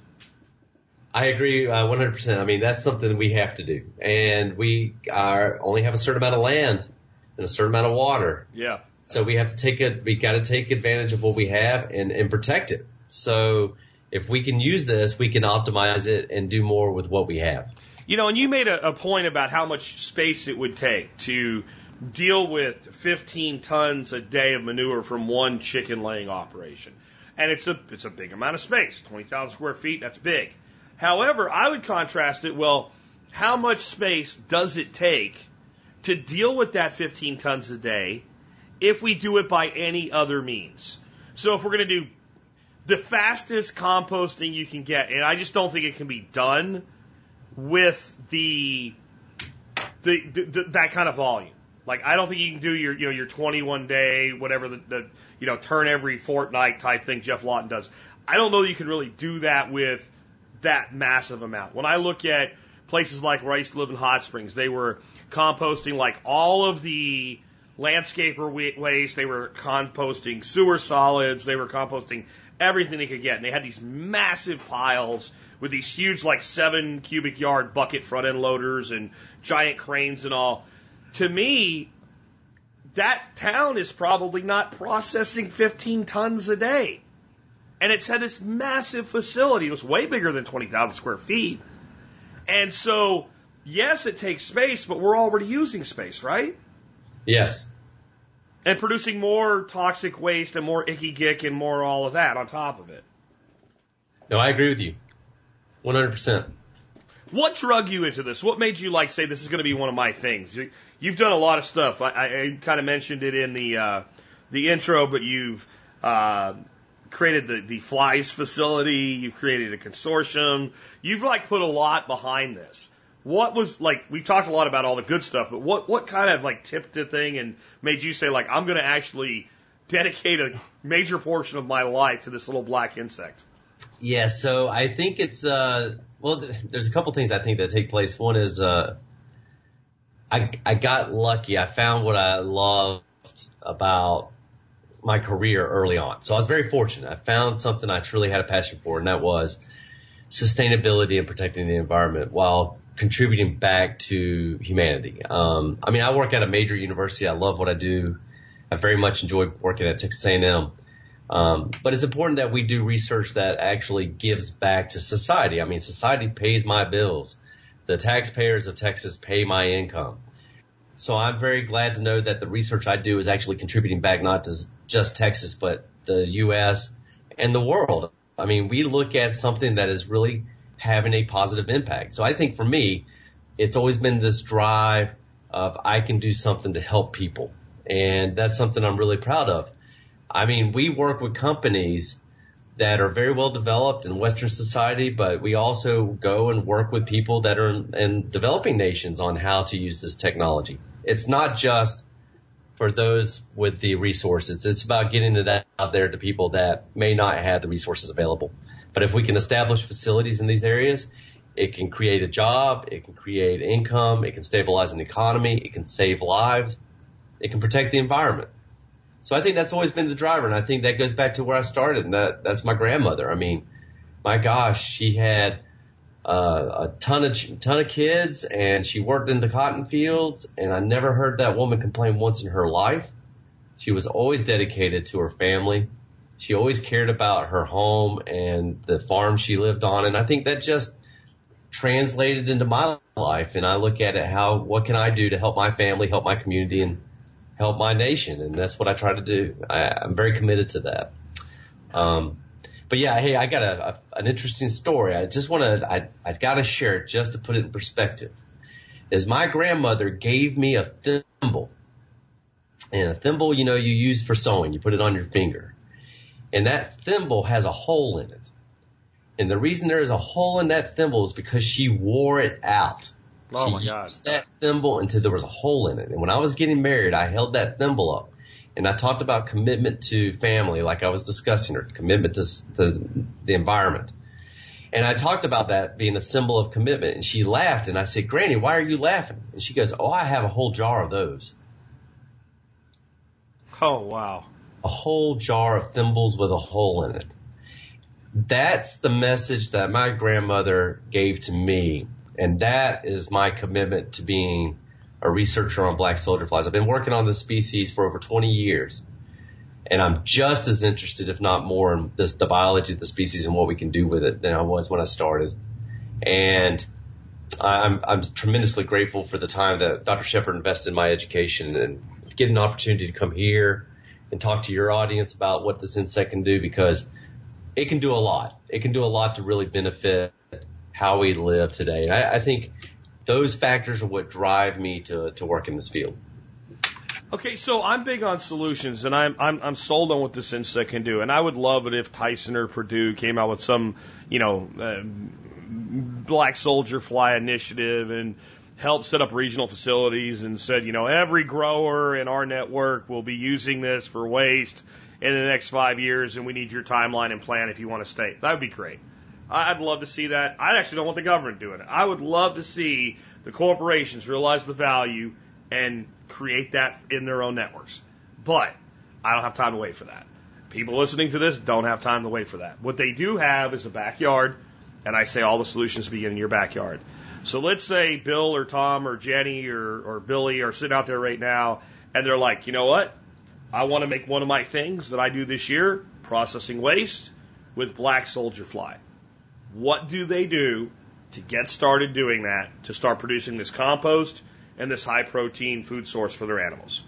I agree uh, one hundred percent. I mean, that's something we have to do, and we are only have a certain amount of land and a certain amount of water. Yeah. So we have to take it, we got to take advantage of what we have and, and protect it. So if we can use this, we can optimize it and do more with what we have. You know, and you made a, a point about how much space it would take to deal with fifteen tons a day of manure from one chicken laying operation. And it's a, it's a big amount of space, twenty thousand square feet, that's big. However, I would contrast it, well, how much space does it take to deal with that fifteen tons a day if we do it by any other means? So if we're going to do the fastest composting you can get, and I just don't think it can be done with the, the, the, the that kind of volume. Like, I don't think you can do your, you know, your twenty-one day, whatever the, the, you know, turn every fortnight type thing Jeff Lawton does. I don't know that you can really do that with that massive amount. When I look at places like where I used to live in Hot Springs, they were composting like all of the landscaper waste. They were composting sewer solids. They were composting everything they could get. And they had these massive piles with these huge, like seven cubic yard bucket front end loaders and giant cranes and all. To me, that town is probably not processing fifteen tons a day. And it's had this massive facility. It was way bigger than twenty thousand square feet. And so, yes, it takes space, but we're already using space, right? Yes. And producing more toxic waste and more icky gick and more all of that on top of it. No, I agree with you. one hundred percent. What drug you into this? What made you like say this is going to be one of my things? You've done a lot of stuff. I, I, I kind of mentioned it in the uh, the intro, but you've uh, created the, the Flies facility. You've created a consortium. You've like put a lot behind this. What was like? We've talked a lot about all the good stuff, but what what kind of like tipped the thing and made you say like I'm going to actually dedicate a major portion of my life to this little black insect? Yeah, so I think it's uh well, there's a couple things I think that take place. One is uh I I got lucky. I found what I loved about my career early on. So I was very fortunate. I found something I truly had a passion for, and that was sustainability and protecting the environment while contributing back to humanity. Um, I mean, I work at a major university. I love what I do. I very much enjoy working at Texas A and M. Um, but it's important that we do research that actually gives back to society. I mean, society pays my bills. The taxpayers of Texas pay my income. So I'm very glad to know that the research I do is actually contributing back not to just Texas, but the U S and the world. I mean, we look at something that is really having a positive impact. So I think for me, it's always been this drive of I can do something to help people. And that's something I'm really proud of. I mean, we work with companies that are very well developed in Western society, but we also go and work with people that are in, in developing nations on how to use this technology. It's not just for those with the resources. It's about getting it out there to people that may not have the resources available. But if we can establish facilities in these areas, it can create a job, it can create income, it can stabilize an economy, it can save lives, it can protect the environment. So I think that's always been the driver, and I think that goes back to where I started, and that, that's my grandmother. I mean, my gosh, she had uh, a ton of ton of kids, and she worked in the cotton fields, and I never heard that woman complain once in her life. She was always dedicated to her family. She always cared about her home and the farm she lived on, and I think that just translated into my life, and I look at it how, what can I do to help my family, help my community, and help my nation, and that's what I try to do. I, I'm very committed to that. Um, but yeah, hey, I got a, a an interesting story. I just want to, I I got to share it just to put it in perspective. Is my grandmother gave me a thimble, and a thimble, you know, you use for sewing. You put it on your finger, and that thimble has a hole in it. And the reason there is a hole in that thimble is because she wore it out. Oh she my God. used that thimble until there was a hole in it. And when I was getting married, I held that thimble up. And I talked about commitment to family, like I was discussing, or commitment to the, the environment. And I talked about that being a symbol of commitment. And she laughed. And I said, Granny, why are you laughing? And she goes, oh, I have a whole jar of those. Oh, wow. A whole jar of thimbles with a hole in it. That's the message that my grandmother gave to me. And that is my commitment to being a researcher on black soldier flies. I've been working on this species for over twenty years. And I'm just as interested, if not more, in this, the biology of the species and what we can do with it than I was when I started. And I'm, I'm tremendously grateful for the time that Doctor Shepard invested in my education and getting an opportunity to come here and talk to your audience about what this insect can do, because it can do a lot. It can do a lot to really benefit how we live today. And I, I think those factors are what drive me to, to work in this field. Okay, so I'm big on solutions, and I'm I'm I'm sold on what this insect can do, and I would love it if Tyson or Purdue came out with some, you know, uh, black soldier fly initiative and helped set up regional facilities and said, you know, every grower in our network will be using this for waste in the next five years, and we need your timeline and plan if you want to stay. That would be great. I'd love to see that. I actually don't want the government doing it. I would love to see the corporations realize the value and create that in their own networks. But I don't have time to wait for that. People listening to this don't have time to wait for that. What they do have is a backyard, and I say all the solutions begin in your backyard. So let's say Bill or Tom or Jenny or, or Billy are sitting out there right now, and they're like, you know what? I want to make one of my things that I do this year, processing waste, with black soldier fly. What do they do to get started doing that, to start producing this compost and this high-protein food source for their animals?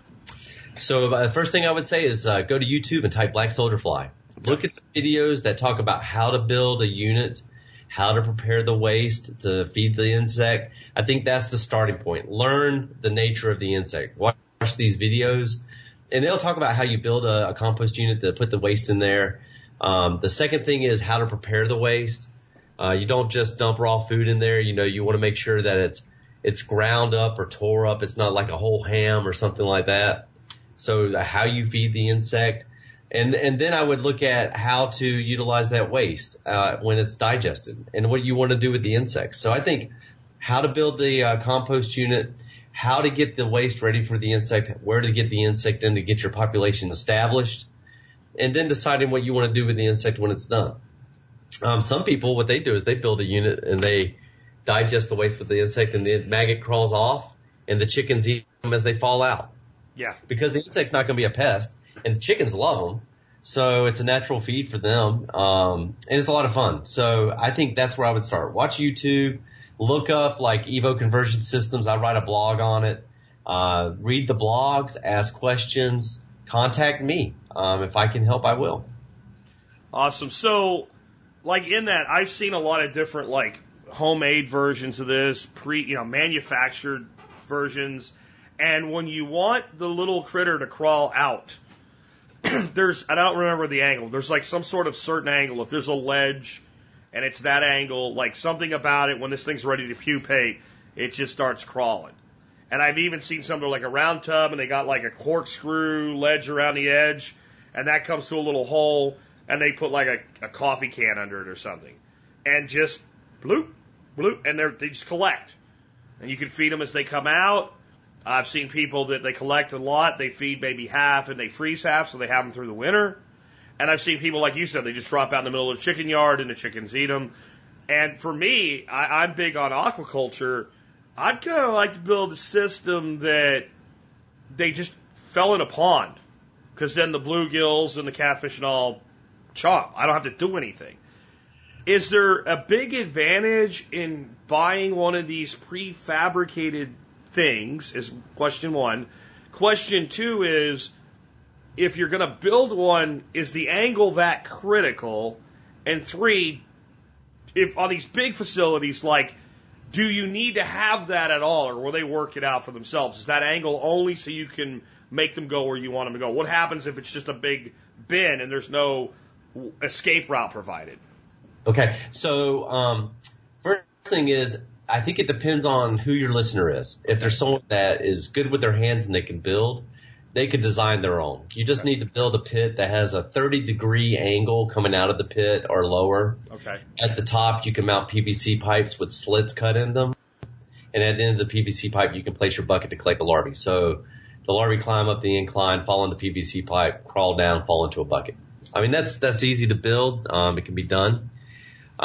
So uh, the first thing I would say is uh, go to YouTube and type black soldier fly. Okay. Look at the videos that talk about how to build a unit, how to prepare the waste to feed the insect. I think that's the starting point. Learn the nature of the insect. Watch these videos, and they'll talk about how you build a, a compost unit to put the waste in there. Um, the second thing is how to prepare the waste. Uh, you don't just dump raw food in there. You know, you want to make sure that it's it's ground up or tore up. It's not like a whole ham or something like that. So how you feed the insect. And and then I would look at how to utilize that waste uh, when it's digested and what you want to do with the insects. So I think how to build the uh, compost unit, how to get the waste ready for the insect, where to get the insect in to get your population established, and then deciding what you want to do with the insect when it's done. Um, some people, what they do is they build a unit and they digest the waste with the insect, and the maggot crawls off, and the chickens eat them as they fall out. Yeah. Because the insect's not going to be a pest, and the chickens love them, so it's a natural feed for them, um, and it's a lot of fun. So I think that's where I would start. Watch YouTube, look up like Evo Conversion Systems. I write a blog on it. Uh, read the blogs, ask questions, contact me. Um, if I can help, I will. Awesome. So, like in that, I've seen a lot of different like homemade versions of this, pre, you know, manufactured versions. And when you want the little critter to crawl out, there's, I don't remember the angle. There's like some sort of certain angle. If there's a ledge and it's that angle, like something about it, when this thing's ready to pupate, it just starts crawling. And I've even seen some that are like a round tub and they got like a corkscrew ledge around the edge, and that comes to a little hole, and they put like a, a coffee can under it or something. And just bloop, bloop, and they're, they just collect. And you can feed them as they come out. I've seen people that they collect a lot, they feed maybe half, and they freeze half, so they have them through the winter. And I've seen people, like you said, they just drop out in the middle of the chicken yard, and the chickens eat them. And for me, I, I'm big on aquaculture. I'd kind of like to build a system that they just fell in a pond, because then the bluegills and the catfish and all chop. I don't have to do anything. Is there a big advantage in buying one of these prefabricated things, is question one. Question two is, if you're going to build one, is the angle that critical? And three, if on these big facilities, like, do you need to have that at all, or will they work it out for themselves? Is that angle only so you can make them go where you want them to go? What happens if it's just a big bin and there's no escape route provided? Okay, so um, first thing is, I think it depends on who your listener is. If there's someone that is good with their hands and they can build, they could design their own. You just okay. need to build a pit that has a thirty degree angle coming out of the pit or lower. Okay. At the top, you can mount P V C pipes with slits cut in them. And at the end of the P V C pipe, you can place your bucket to collect the larvae. So the larvae climb up the incline, fall in the P V C pipe, crawl down, fall into a bucket. I mean, that's that's easy to build. Um, it can be done.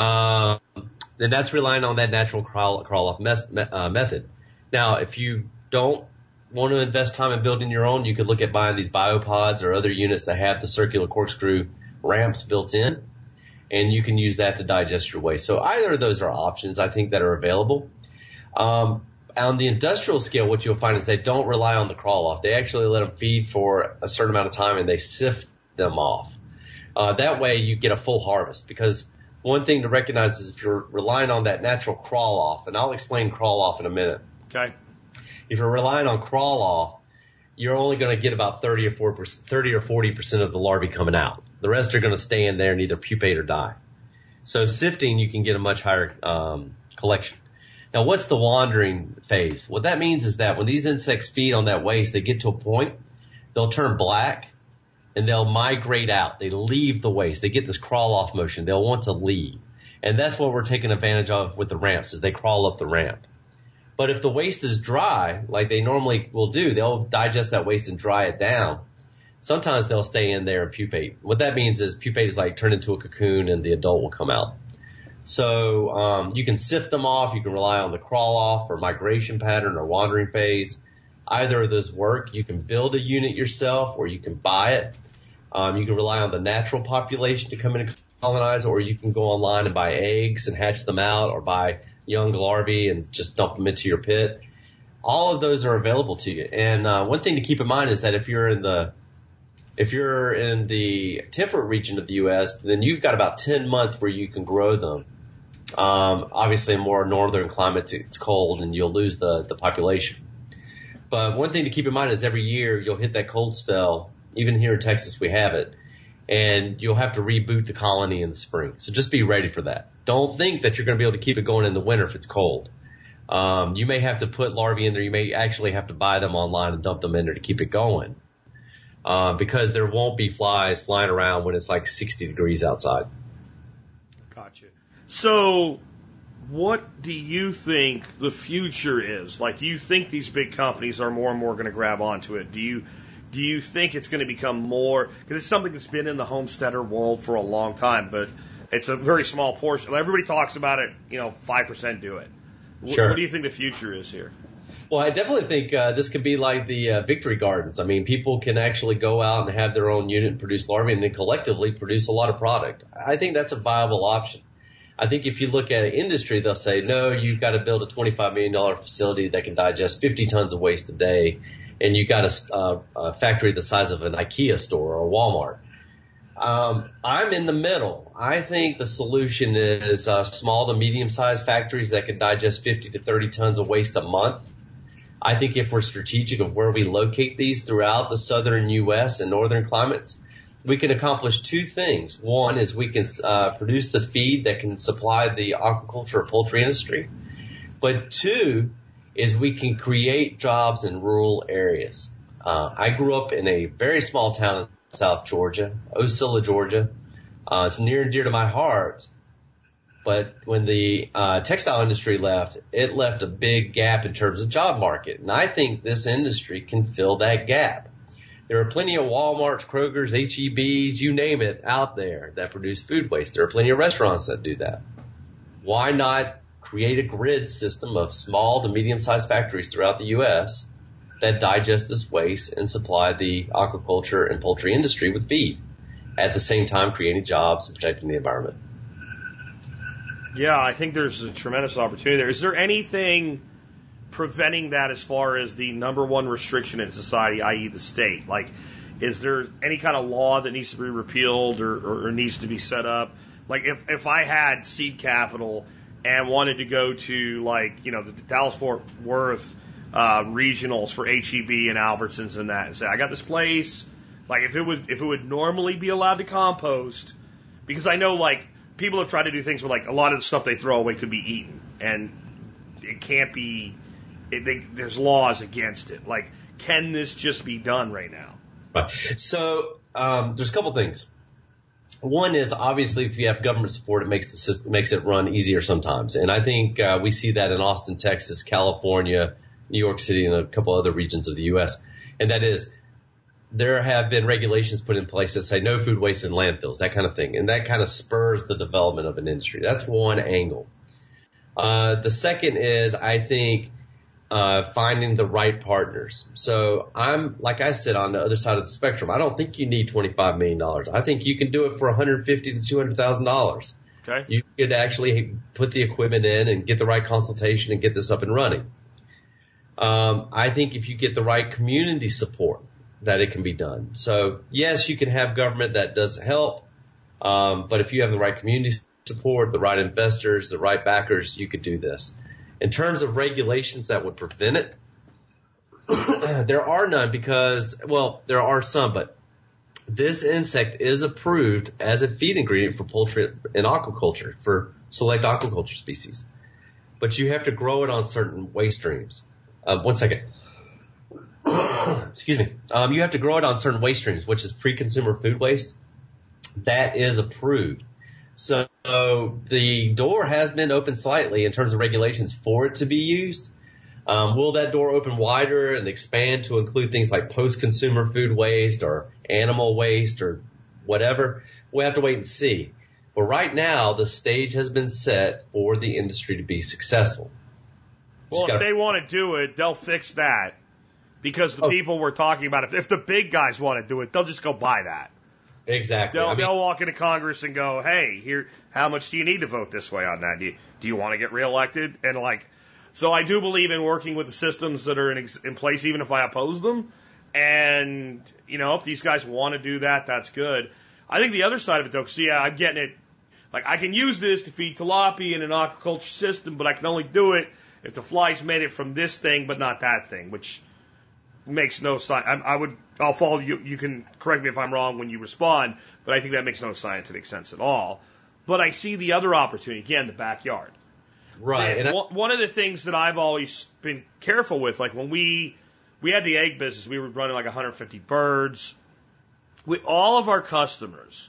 Um, and that's relying on that natural crawl, crawl off mes- uh, method. Now, if you don't want to invest time in building your own, you could look at buying these biopods or other units that have the circular corkscrew ramps built in, and you can use that to digest your waste. So either of those are options, I think, that are available. Um, on the industrial scale, what you'll find is they don't rely on the crawl off. They actually let them feed for a certain amount of time and they sift them off. Uh, that way you get a full harvest, because one thing to recognize is if you're relying on that natural crawl off, and I'll explain crawl off in a minute. Okay. If you're relying on crawl off, you're only going to get about thirty or four percent, thirty or forty percent of the larvae coming out. The rest are going to stay in there and either pupate or die. So sifting, you can get a much higher um, collection. Now, what's the wandering phase? What that means is that when these insects feed on that waste, they get to a point, they'll turn black, and they'll migrate out. They leave the waste. They get this crawl-off motion. They'll want to leave. And that's what we're taking advantage of with the ramps, is they crawl up the ramp. But if the waste is dry, like they normally will do, they'll digest that waste and dry it down. Sometimes they'll stay in there and pupate. What that means is pupate is like turn into a cocoon and the adult will come out. So um, you can sift them off. You can rely on the crawl off or migration pattern or wandering phase. Either of those work. You can build a unit yourself or you can buy it. Um, you can rely on the natural population to come in and colonize, or you can go online and buy eggs and hatch them out, or buy young larvae and just dump them into your pit. All of those are available to you. And uh, one thing to keep in mind is that if you're in the If you're in the temperate region of the U S, then you've got about ten months where you can grow them. Um, obviously, in more northern climates, it's cold and you'll lose the, the population. But one thing to keep in mind is every year you'll hit that cold spell. Even here in Texas, we have it. And you'll have to reboot the colony in the spring. So just be ready for that. Don't think that you're going to be able to keep it going in the winter if it's cold. Um, you may have to put larvae in there. You may actually have to buy them online and dump them in there to keep it going. Uh, because there won't be flies flying around when it's like sixty degrees outside. Gotcha. So what do you think the future is? Like, do you think these big companies are more and more going to grab onto it? Do you do you think it's going to become more, because it's something that's been in the homesteader world for a long time, but it's a very small portion. Everybody talks about it, you know, five percent do it. Sure. What do you think the future is here? Well, I definitely think uh, this could be like the uh, victory gardens. I mean, people can actually go out and have their own unit and produce larvae and then collectively produce a lot of product. I think that's a viable option. I think if you look at an industry, they'll say, no, you've got to build a twenty-five million dollars facility that can digest fifty tons of waste a day, and you've got a, uh, a factory the size of an IKEA store or a Walmart. Um, I'm in the middle. I think the solution is uh, small to medium-sized factories that can digest fifty to thirty tons of waste a month. I think if we're strategic of where we locate these throughout the southern U S and northern climates, we can accomplish two things. One is we can uh, produce the feed that can supply the aquaculture or poultry industry. But two is we can create jobs in rural areas. Uh, I grew up in a very small town in South Georgia, Ocilla, Georgia. Uh, it's near and dear to my heart. But when the uh, textile industry left, it left a big gap in terms of job market. And I think this industry can fill that gap. There are plenty of Walmarts, Krogers, H E Bs, you name it, out there that produce food waste. There are plenty of restaurants that do that. Why not create a grid system of small to medium-sized factories throughout the U S that digest this waste and supply the aquaculture and poultry industry with feed, at the same time creating jobs and protecting the environment? Yeah, I think there's a tremendous opportunity there. Is there anything preventing that as far as the number one restriction in society, that is the state? Like, is there any kind of law that needs to be repealed or, or, or needs to be set up? Like, if, if I had seed capital and wanted to go to, like, you know, the Dallas-Fort Worth uh, regionals for H E B and Albertsons and that, and say, I got this place, like, if it would, if it would normally be allowed to compost, because I know, like, people have tried to do things where, like, a lot of the stuff they throw away could be eaten, and it can't be. It, they, there's laws against it. Like, can this just be done right now? Right. So um, there's a couple things. One is obviously if you have government support, it makes the system, makes it run easier sometimes, and I think uh, we see that in Austin, Texas, California, New York City, and a couple other regions of the U S. And that is, there have been regulations put in place that say no food waste in landfills, that kind of thing. And that kind of spurs the development of an industry. That's one angle. Uh, the second is, I think uh, finding the right partners. So I'm, like I said, on the other side of the spectrum. I don't think you need twenty-five million dollars. I think you can do it for one hundred fifty thousand to two hundred thousand dollars. Okay. You could actually put the equipment in and get the right consultation and get this up and running. Um, I think if you get the right community support, that it can be done. So yes, you can have government that does help, um, but if you have the right community support, the right investors, the right backers, you could do this. In terms of regulations that would prevent it, there are none because, well, there are some, but this insect is approved as a feed ingredient for poultry and aquaculture, for select aquaculture species. But you have to grow it on certain waste streams. Um, one second. Excuse me. Um, you have to grow it on certain waste streams, which is pre-consumer food waste. That is approved. So the door has been opened slightly in terms of regulations for it to be used. Um, will that door open wider and expand to include things like post-consumer food waste or animal waste or whatever? We'll have to wait and see. But right now, the stage has been set for the industry to be successful. Well, gotta, if they want to do it, they'll fix that. Because the oh, people we're talking about, if, if the big guys want to do it, they'll just go buy that. Exactly. They'll, I mean, they'll walk into Congress and go, hey, here, how much do you need to vote this way on that? Do you, do you want to get reelected? And like, so I do believe in working with the systems that are in, in place, even if I oppose them. And, you know, if these guys want to do that, that's good. I think the other side of it, though, because, yeah, I'm getting it. Like, I can use this to feed tilapia in an aquaculture system, but I can only do it if the flies made it from this thing, but not that thing, which makes no sense. I, I would, I'll follow you. You can correct me if I'm wrong when you respond, but I think that makes no scientific sense at all. But I see the other opportunity, again, the backyard. Right. And and I, one of the things that I've always been careful with, like when we, we had the egg business, we were running like one hundred fifty birds. We, all of our customers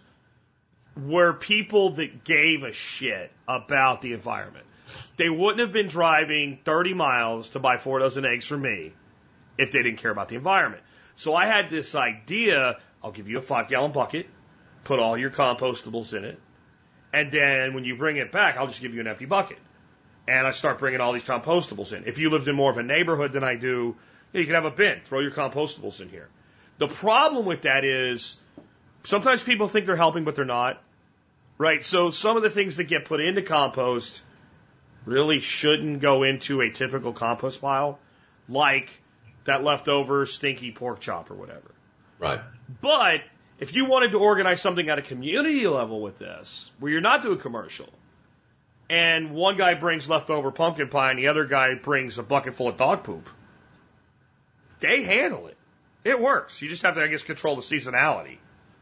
were people that gave a shit about the environment. They wouldn't have been driving thirty miles to buy four dozen eggs from me if they didn't care about the environment. So I had this idea, I'll give you a five gallon bucket, put all your compostables in it, and then when you bring it back, I'll just give you an empty bucket. And I start bringing all these compostables in. If you lived in more of a neighborhood than I do, you could have a bin, throw your compostables in here. The problem with that is sometimes people think they're helping, but they're not. Right? So some of the things that get put into compost really shouldn't go into a typical compost pile, like that leftover stinky pork chop or whatever. Right. But if you wanted to organize something at a community level with this, where you're not doing commercial, and one guy brings leftover pumpkin pie and the other guy brings a bucket full of dog poop, they handle it. It works. You just have to, I guess, control the seasonality.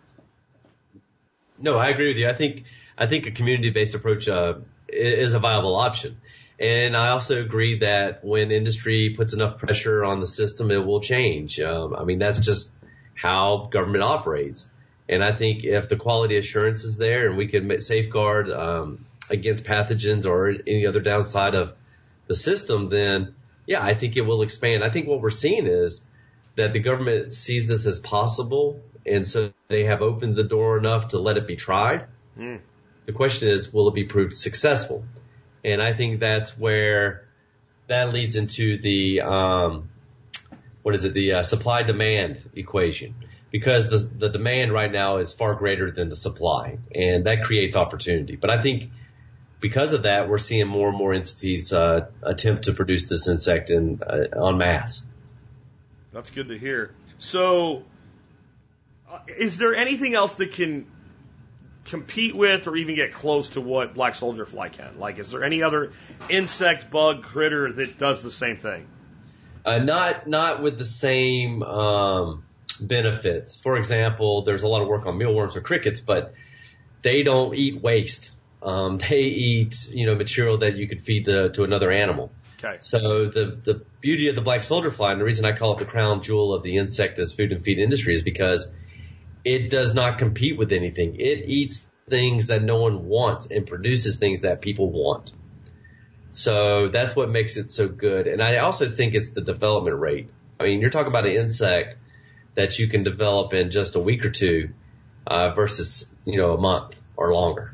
No, I agree with you. I think I think a community-based approach uh, is a viable option. And I also agree that when industry puts enough pressure on the system, it will change. Um, I mean, that's just how government operates. And I think if the quality assurance is there and we can safeguard um, against pathogens or any other downside of the system, then, yeah, I think it will expand. I think what we're seeing is that the government sees this as possible, and so they have opened the door enough to let it be tried. Mm. The question is, will it be proved successful? And I think that's where that leads into the, um, what is it, the uh, supply-demand equation. Because the, the demand right now is far greater than the supply, and that creates opportunity. But I think because of that, we're seeing more and more entities uh, attempt to produce this insect in uh, en masse. That's good to hear. So, uh, is there anything else that can compete with or even get close to what black soldier fly can? Like, is there any other insect, bug, critter that does the same thing? Uh, not not with the same um, benefits. For example, there's a lot of work on mealworms or crickets, but they don't eat waste. Um, they eat, you know, material that you could feed to, to another animal. Okay. So the the beauty of the black soldier fly, and the reason I call it the crown jewel of the insect as food and feed industry, is because it does not compete with anything. It eats things that no one wants and produces things that people want. So that's what makes it so good. And I also think it's the development rate. I mean, you're talking about an insect that you can develop in just a week or two uh, versus, you know, a month or longer.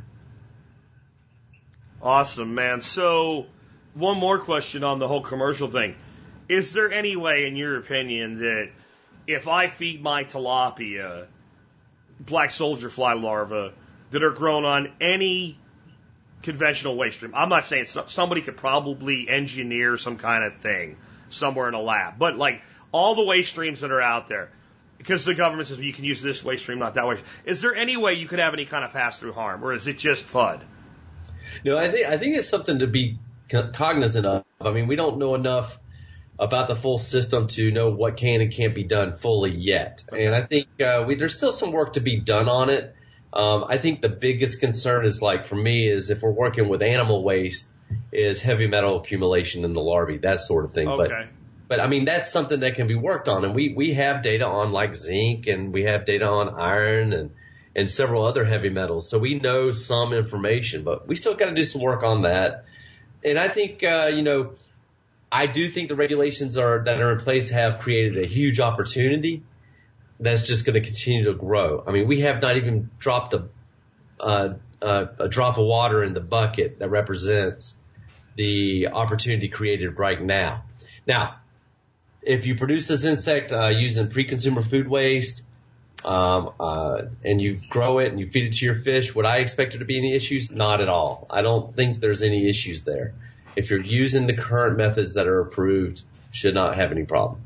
Awesome, man. So one more question on the whole commercial thing. Is there any way, in your opinion, that if I feed my tilapia black soldier fly larvae that are grown on any conventional waste stream, I'm not saying somebody could probably engineer some kind of thing somewhere in a lab, but like all the waste streams that are out there, because the government says, well, you can use this waste stream, not that waste. Is there any way you could have any kind of pass-through harm, or is it just F U D? No, I think I think it's something to be cognizant of. I mean, we don't know enough about the full system to know what can and can't be done fully yet. And I think uh, we, there's still some work to be done on it. Um, I think the biggest concern is, like, for me, is if we're working with animal waste, is heavy metal accumulation in the larvae, that sort of thing. Okay. But, but I mean, that's something that can be worked on. And we, we have data on, like, zinc, and we have data on iron and, and several other heavy metals. So we know some information, but we still got to do some work on that. And I think, uh, you know, I do think the regulations are that are in place have created a huge opportunity that's just going to continue to grow. I mean, we have not even dropped a, uh, uh, a drop of water in the bucket that represents the opportunity created right now. Now, if you produce this insect uh, using pre-consumer food waste, um, uh, and you grow it and you feed it to your fish, would I expect there to be any issues? Not at all. I don't think there's any issues there. If you're using the current methods that are approved, should not have any problem.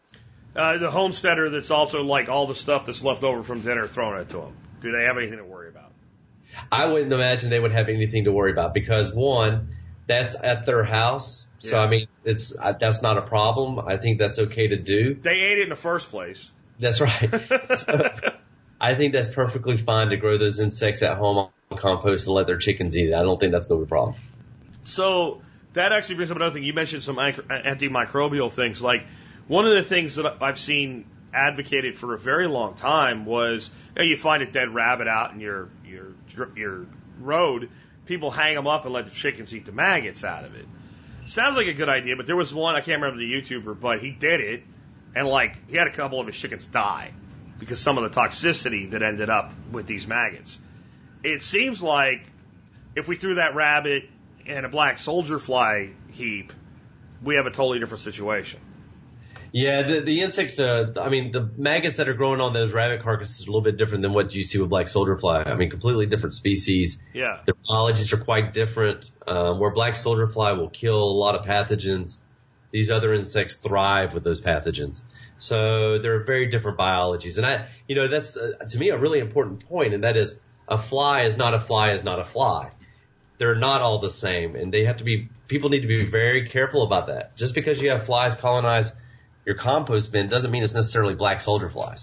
Uh, the homesteader that's also like all the stuff that's left over from dinner thrown it to them, do they have anything to worry about? I wouldn't imagine they would have anything to worry about because, one, that's at their house. So, Yeah. I mean, it's uh, that's not a problem. I think that's okay to do. They ate it in the first place. That's right. So, I think that's perfectly fine to grow those insects at home on compost and let their chickens eat it. I don't think that's going to be a problem. So that actually brings up another thing. You mentioned some antimicrobial things. Like one of the things that I've seen advocated for a very long time was, you know, you find a dead rabbit out in your your your road, people hang them up and let the chickens eat the maggots out of it. Sounds like a good idea, but there was one, I can't remember the YouTuber, but he did it, and like he had a couple of his chickens die because some of the toxicity that ended up with these maggots. It seems like if we threw that rabbit in a black soldier fly heap, we have a totally different situation. Yeah, the, the insects, uh, I mean, the maggots that are growing on those rabbit carcasses are a little bit different than what you see with black soldier fly. I mean, completely different species. Yeah. Their biologies are quite different. Um, where black soldier fly will kill a lot of pathogens, these other insects thrive with those pathogens. So they're very different biologies. And I, you know, that's, uh, to me, a really important point, and that is a fly is not a fly is not a fly. They're not all the same, and they have to be, people need to be very careful about that. Just because you have flies colonize your compost bin doesn't mean it's necessarily black soldier flies.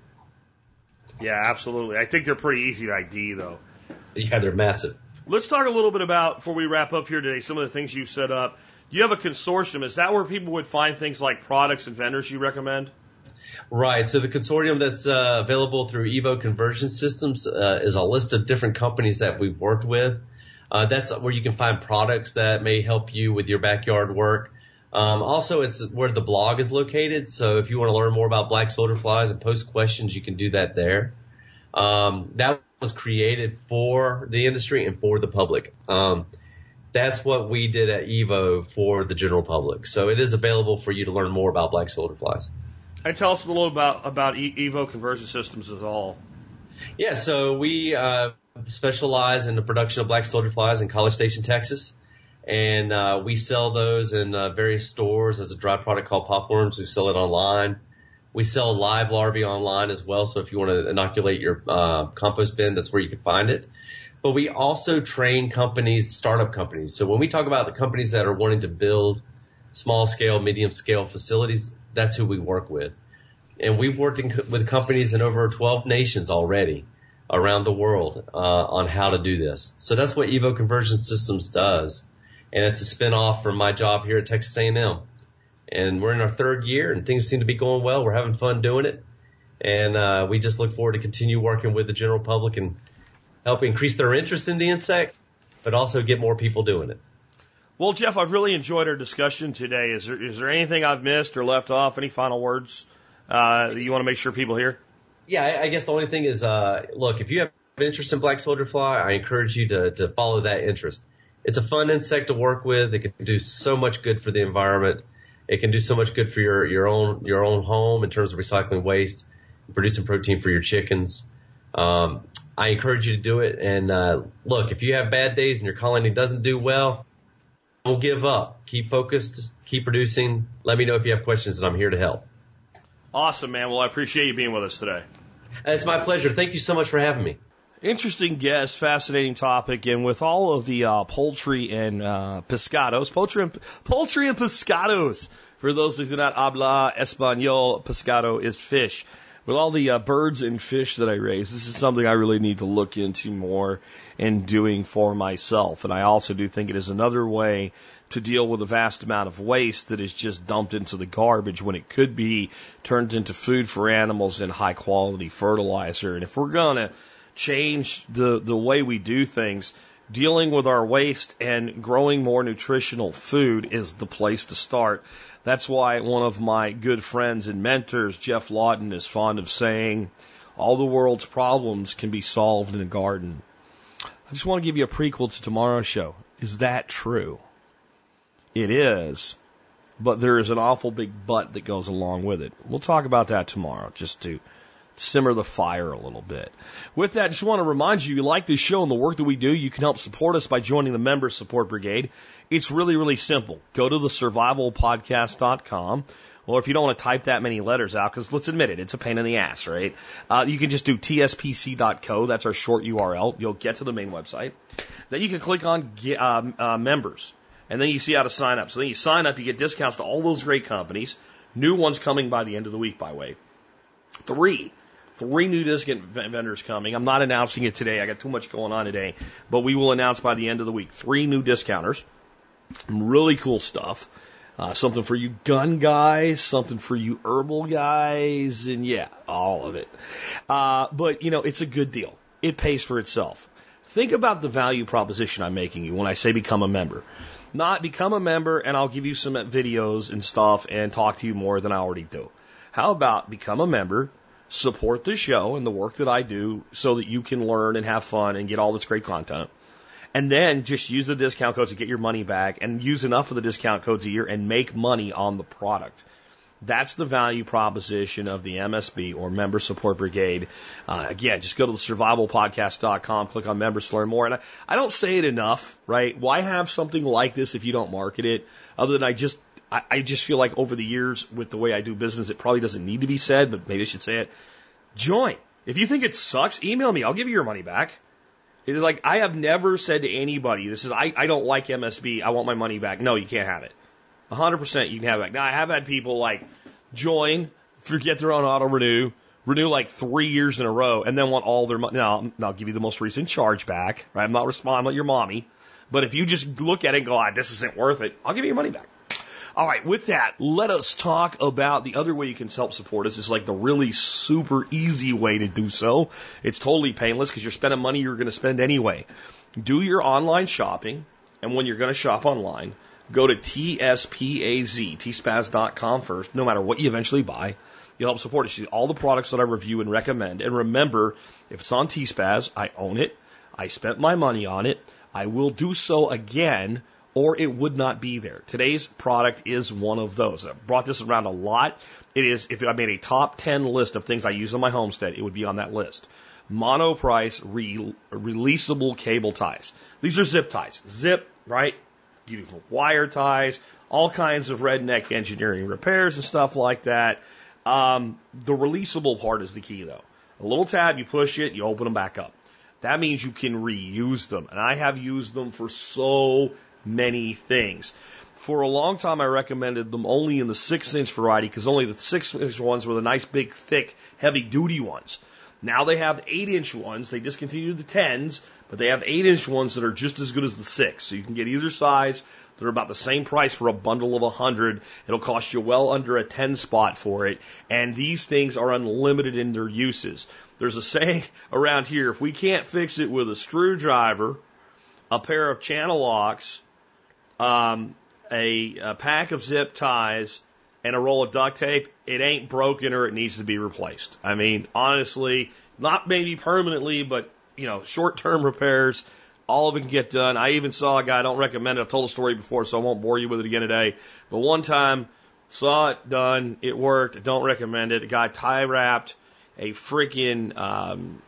Yeah, absolutely. I think they're pretty easy to I D, though. Yeah, they're massive. Let's talk a little bit about, before we wrap up here today, some of the things you've set up. You have a consortium. Is that where people would find things like products and vendors you recommend? Right. So the consortium that's uh, available through Evo Conversion Systems uh, is a list of different companies that we've worked with. Uh, that's where you can find products that may help you with your backyard work. Um, also, it's where the blog is located. So if you want to learn more about black soldier flies and post questions, you can do that there. Um, that was created for the industry and for the public. Um, that's what we did at Evo for the general public. So it is available for you to learn more about black soldier flies. And tell us a little about, about Evo Conversion Systems as all. Yeah, so we uh, specialize in the production of black soldier flies in College Station, Texas. And uh, we sell those in uh, various stores as a dry product called Popworms. We sell it online. We sell live larvae online as well. So if you want to inoculate your uh, compost bin, that's where you can find it. But we also train companies, startup companies. So when we talk about the companies that are wanting to build small scale, medium scale facilities, that's who we work with. And we've worked in, with companies in over twelve nations already around the world uh, on how to do this. So that's what Evo Conversion Systems does. And it's a spinoff from my job here at Texas A and M. And we're in our third year, and things seem to be going well. We're having fun doing it. And uh, we just look forward to continue working with the general public and help increase their interest in the insect, but also get more people doing it. Well, Jeff, I've really enjoyed our discussion today. Is there, is there anything I've missed or left off? Any final words uh, that you want to make sure people hear? Yeah, I, I guess the only thing is, uh, look, if you have interest in black soldier fly, I encourage you to, to follow that interest. It's a fun insect to work with. It can do so much good for the environment. It can do so much good for your, your own, your own home in terms of recycling waste, producing protein for your chickens. Um, I encourage you to do it. And, uh, look, if you have bad days and your colony doesn't do well, don't give up. Keep focused, keep producing. Let me know if you have questions, and I'm here to help. Awesome, man. Well, I appreciate you being with us today. It's my pleasure. Thank you so much for having me. Interesting guest, fascinating topic, and with all of the uh, poultry and uh, pescados, poultry and, poultry and pescados, for those who do not habla español, pescado is fish. With all the uh, birds and fish that I raise, this is something I really need to look into more and doing for myself. And I also do think it is another way to deal with a vast amount of waste that is just dumped into the garbage when it could be turned into food for animals and high quality fertilizer. And if we're going to change the, the way we do things, dealing with our waste and growing more nutritional food is the place to start. That's why one of my good friends and mentors, Jeff Lawton, is fond of saying, all the world's problems can be solved in a garden. I just want to give you a prequel to tomorrow's show. Is that true? It is, but there is an awful big but that goes along with it. We'll talk about that tomorrow, just to simmer the fire a little bit. With that, I just want to remind you, if you like this show and the work that we do, you can help support us by joining the Member Support Brigade. It's really, really simple. Go to the survival podcast dot com, or if you don't want to type that many letters out, because let's admit it, it's a pain in the ass, right? Uh, you can just do T S P C dot co. That's our short U R L. You'll get to the main website. Then you can click on uh, uh, members, and then you see how to sign up. So then you sign up, you get discounts to all those great companies. New ones coming by the end of the week, by the way. Three. Three new discount vendors coming. I'm not announcing it today. I got too much going on today. But we will announce by the end of the week. Three new discounters. Really cool stuff. Uh, something for you gun guys, something for you herbal guys, and yeah, all of it. Uh, but, you know, it's a good deal. It pays for itself. Think about the value proposition I'm making you when I say become a member. Not become a member and I'll give you some videos and stuff and talk to you more than I already do. How about become a member, support the show and the work that I do so that you can learn and have fun and get all this great content. And then just use the discount codes to get your money back and use enough of the discount codes a year and make money on the product. That's the value proposition of the M S B or Member Support Brigade. Uh, again, just go to the survival podcast dot com, click on members to learn more. And I, I don't say it enough, right? Why have something like this if you don't market it? Other than I just, I, I just feel like over the years with the way I do business, it probably doesn't need to be said, but maybe I should say it. Join. If you think it sucks, email me. I'll give you your money back. It is like, I have never said to anybody, this is, I, I don't like M S B, I want my money back. No, you can't have it. one hundred percent you can have it back. Now, I have had people like join, forget their own auto renew, renew like three years in a row, and then want all their money. Now, I'll give you the most recent charge back, right? I'm not responding, I'm not your mommy. But if you just look at it and go, ah, this isn't worth it, I'll give you your money back. All right, with that, let us talk about the other way you can help support us. It's like the really super easy way to do so. It's totally painless because you're spending money you're going to spend anyway. Do your online shopping, and when you're going to shop online, go to T S P A Z, T spaz dot com first, no matter what you eventually buy. You'll help support us. You see all the products that I review and recommend. And remember, if it's on T Spaz, I own it. I spent my money on it. I will do so again, or it would not be there. Today's product is one of those. I've brought this around a lot. It is, if I made a top ten list of things I use on my homestead, it would be on that list. Monoprice re- releasable cable ties. These are zip ties. Zip, right? You do wire ties, all kinds of redneck engineering repairs and stuff like that. Um, the releasable part is the key, though. A little tab, you push it, you open them back up. That means you can reuse them. And I have used them for so many things. For a long time, I recommended them only in the six-inch variety because only the six-inch ones were the nice, big, thick, heavy-duty ones. Now they have eight-inch ones. They discontinued the tens, but they have eight-inch ones that are just as good as the six. So you can get either size. They're about the same price for a bundle of a hundred. It'll cost you well under a ten spot for it. And these things are unlimited in their uses. There's a saying around here, if we can't fix it with a screwdriver, a pair of channel locks, um, a, a pack of zip ties, and a roll of duct tape, it ain't broken or it needs to be replaced. I mean, honestly, not maybe permanently, but, you know, short-term repairs, all of it can get done. I even saw a guy, I don't recommend it, I've told a story before, so I won't bore you with it again today. But one time, Saw it done. It worked. Don't recommend it. A guy tie wrapped a freaking, um,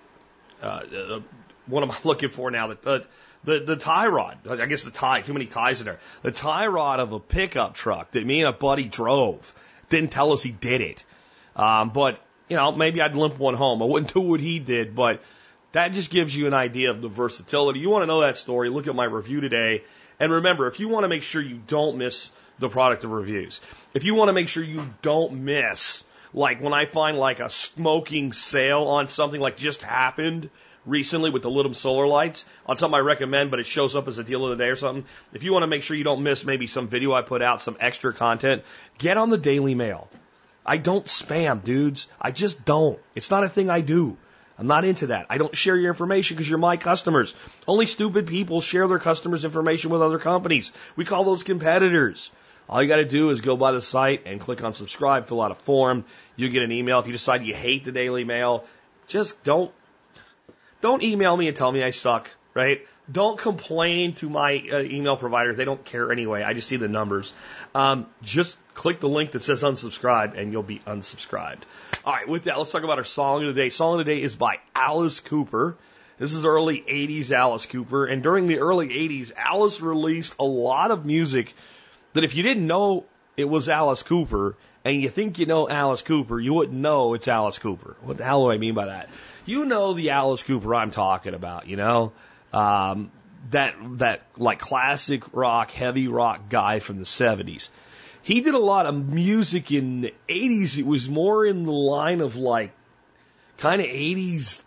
uh, what am I looking for now? The, the, the, the tie rod. I guess the tie, too many ties in there. The tie rod of a pickup truck that me and a buddy drove. Didn't tell us he did it. Um, but, you know, maybe I'd limp one home. I wouldn't do what he did, but that just gives you an idea of the versatility. You want to know that story, look at my review today. And remember, if you want to make sure you don't miss the product of reviews, if you want to make sure you don't miss, like when I find like a smoking sale on something like just happened recently with the Lidum solar lights, on something I recommend, but it shows up as a deal of the day or something, if you want to make sure you don't miss maybe some video I put out, some extra content, get on the Daily Mail. I don't spam, dudes. I just don't. It's not a thing I do. I'm not into that. I don't share your information because you're my customers. Only stupid people share their customers' information with other companies. We call those competitors. All you got to do is go by the site and click on subscribe, fill out a form. You get an email. If you decide you hate the Daily Mail, just don't don't email me and tell me I suck, right? Don't complain to my uh, email providers. They don't care anyway. I just see the numbers. Um, just click the link that says unsubscribe and you'll be unsubscribed. All right, with that, let's talk about our song of the day. Song of the day is by Alice Cooper. This is early eighties Alice Cooper. And during the early eighties, Alice released a lot of music that if you didn't know it was Alice Cooper and you think you know Alice Cooper, you wouldn't know it's Alice Cooper. What the hell do I mean by that? You know the Alice Cooper I'm talking about, you know? Um, that, that like classic rock, heavy rock guy from the seventies. He did a lot of music in the eighties. It was more in the line of like kind of eighties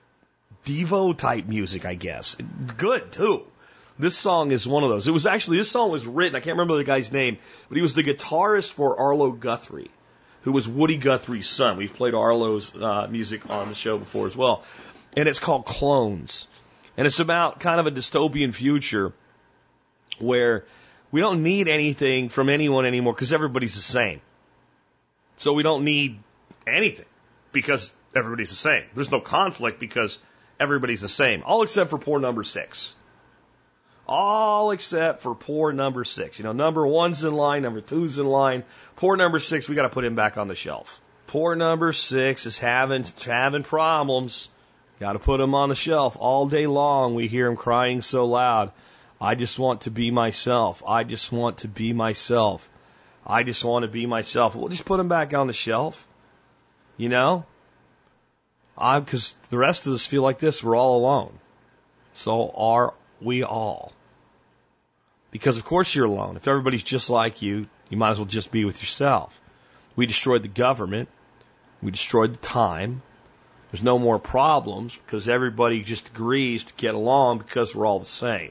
Devo type music, I guess. Good too. This song is one of those. It was actually, this song was written, I can't remember the guy's name, but he was the guitarist for Arlo Guthrie, who was Woody Guthrie's son. We've played Arlo's uh, music on the show before as well. And it's called Clones. And it's about kind of a dystopian future where we don't need anything from anyone anymore because everybody's the same. So we don't need anything because everybody's the same. There's no conflict because everybody's the same. All except for poor number six. All except for poor number six. You know, number one's in line, number two's in line. Poor number six, we got to put him back on the shelf. Poor number six is having having problems. Got to put him on the shelf. All day long we hear him crying so loud. I just want to be myself. I just want to be myself. I just want to be myself. We'll just put him back on the shelf. You know? I, because the rest of us feel like this. We're all alone. So are we all. Because of course you're alone. If everybody's just like you, you might as well just be with yourself. We destroyed the government. We destroyed the time. There's no more problems because everybody just agrees to get along because we're all the same.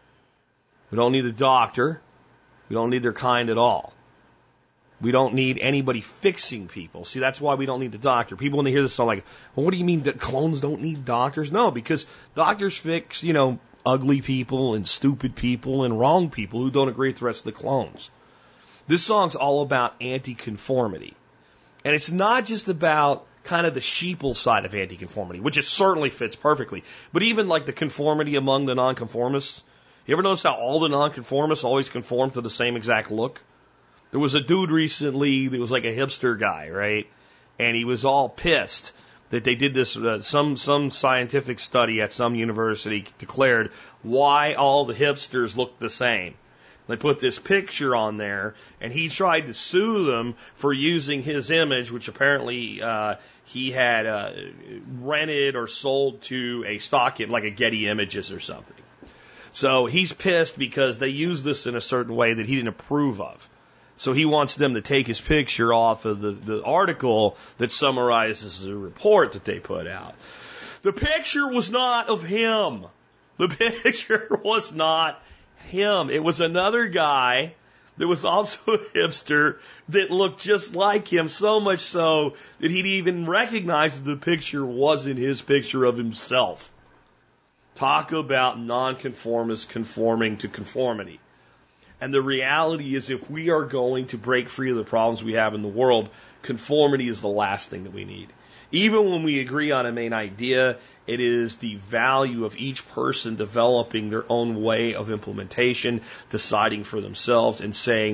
We don't need a doctor. We don't need their kind at all. We don't need anybody fixing people. See, that's why we don't need the doctor. People, when they hear this, sound like, well, what do you mean that clones don't need doctors? No, because doctors fix, you know, ugly people and stupid people and wrong people who don't agree with the rest of the clones. This song's all about anti-conformity. And it's not just about kind of the sheeple side of anti-conformity, which it certainly fits perfectly, but even like the conformity among the nonconformists. You ever notice how all the nonconformists always conform to the same exact look? There was a dude recently that was like a hipster guy, right? And he was all pissed that they did this, uh, some, some scientific study at some university declared why all the hipsters look the same. They put this picture on there, and he tried to sue them for using his image, which apparently uh, he had uh, rented or sold to a stock, like a Getty Images or something. So he's pissed because they used this in a certain way that he didn't approve of. So he wants them to take his picture off of the, the article that summarizes the report that they put out. The picture was not of him. The picture was not him. It was another guy that was also a hipster that looked just like him, so much so that he'd even recognize that the picture wasn't his picture of himself. Talk about nonconformists conforming to conformity. And the reality is, if we are going to break free of the problems we have in the world, conformity is the last thing that we need. Even when we agree on a main idea, it is the value of each person developing their own way of implementation, deciding for themselves and saying,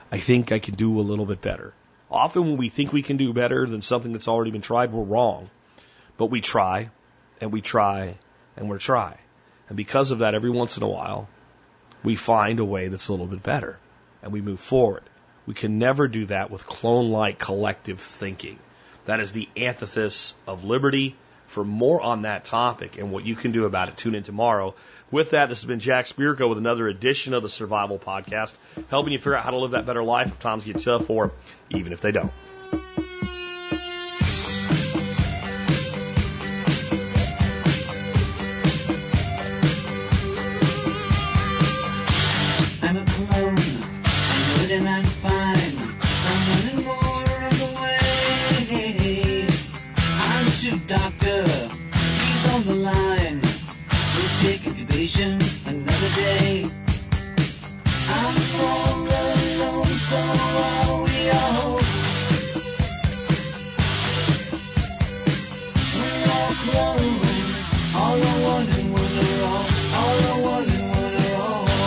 I think I can do a little bit better. Often when we think we can do better than something that's already been tried, we're wrong. But we try, and we try, and we try. And because of that, every once in a while, we find a way that's a little bit better, and we move forward. We can never do that with clone-like collective thinking. That is the antithesis of liberty. For more on that topic and what you can do about it, tune in tomorrow. With that, this has been Jack Spirko with another edition of the Survival Podcast, helping you figure out how to live that better life if times get tough or even if they don't. I'm a clone. I'm good and I'm fine. I'm running more on the way. I'm to doctor. He's on the line. We'll take incubation another day. I'm all alone, so are we all. We're all clones. All are one and one are all. All are one and one are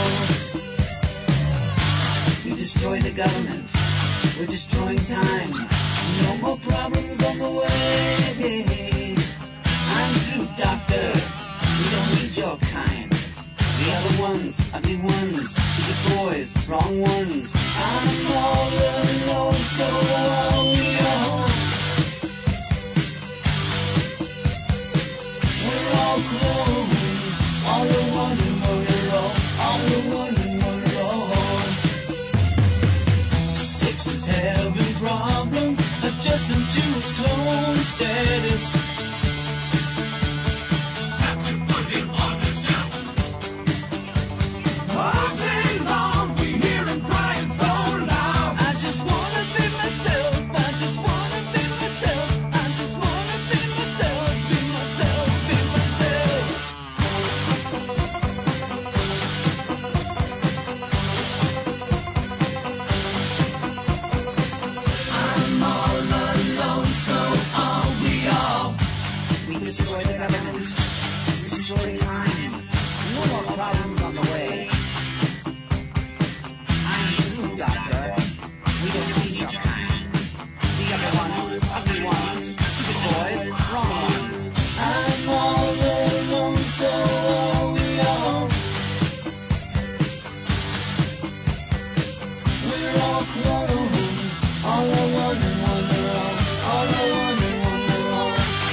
all. We destroy the government. We're destroying time. No more problems on the way. I'm through, doctor. We don't need your kind. The other ones, ugly ones, stupid boys, wrong ones. I'm all alone, so are we all. We're all clones. All are one and one are all. All are one and one are all. Six is having problems, adjusting to his clone status. Destroy the government, destroy time, no more problems on the way. I'm through, doctor, we don't need your kind. The other ones, ugly ones, stupid boys, wrong ones. I'm all alone, so are we all. We're all clones, all are one and one are all. All are one and one are all.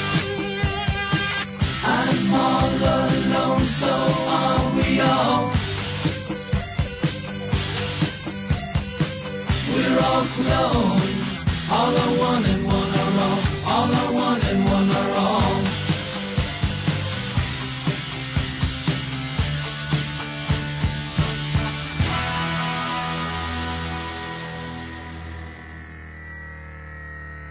I'm all alone, so are we all. We're all clones. All are one and one are all. All are one and one are all.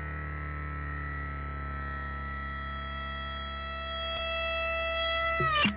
You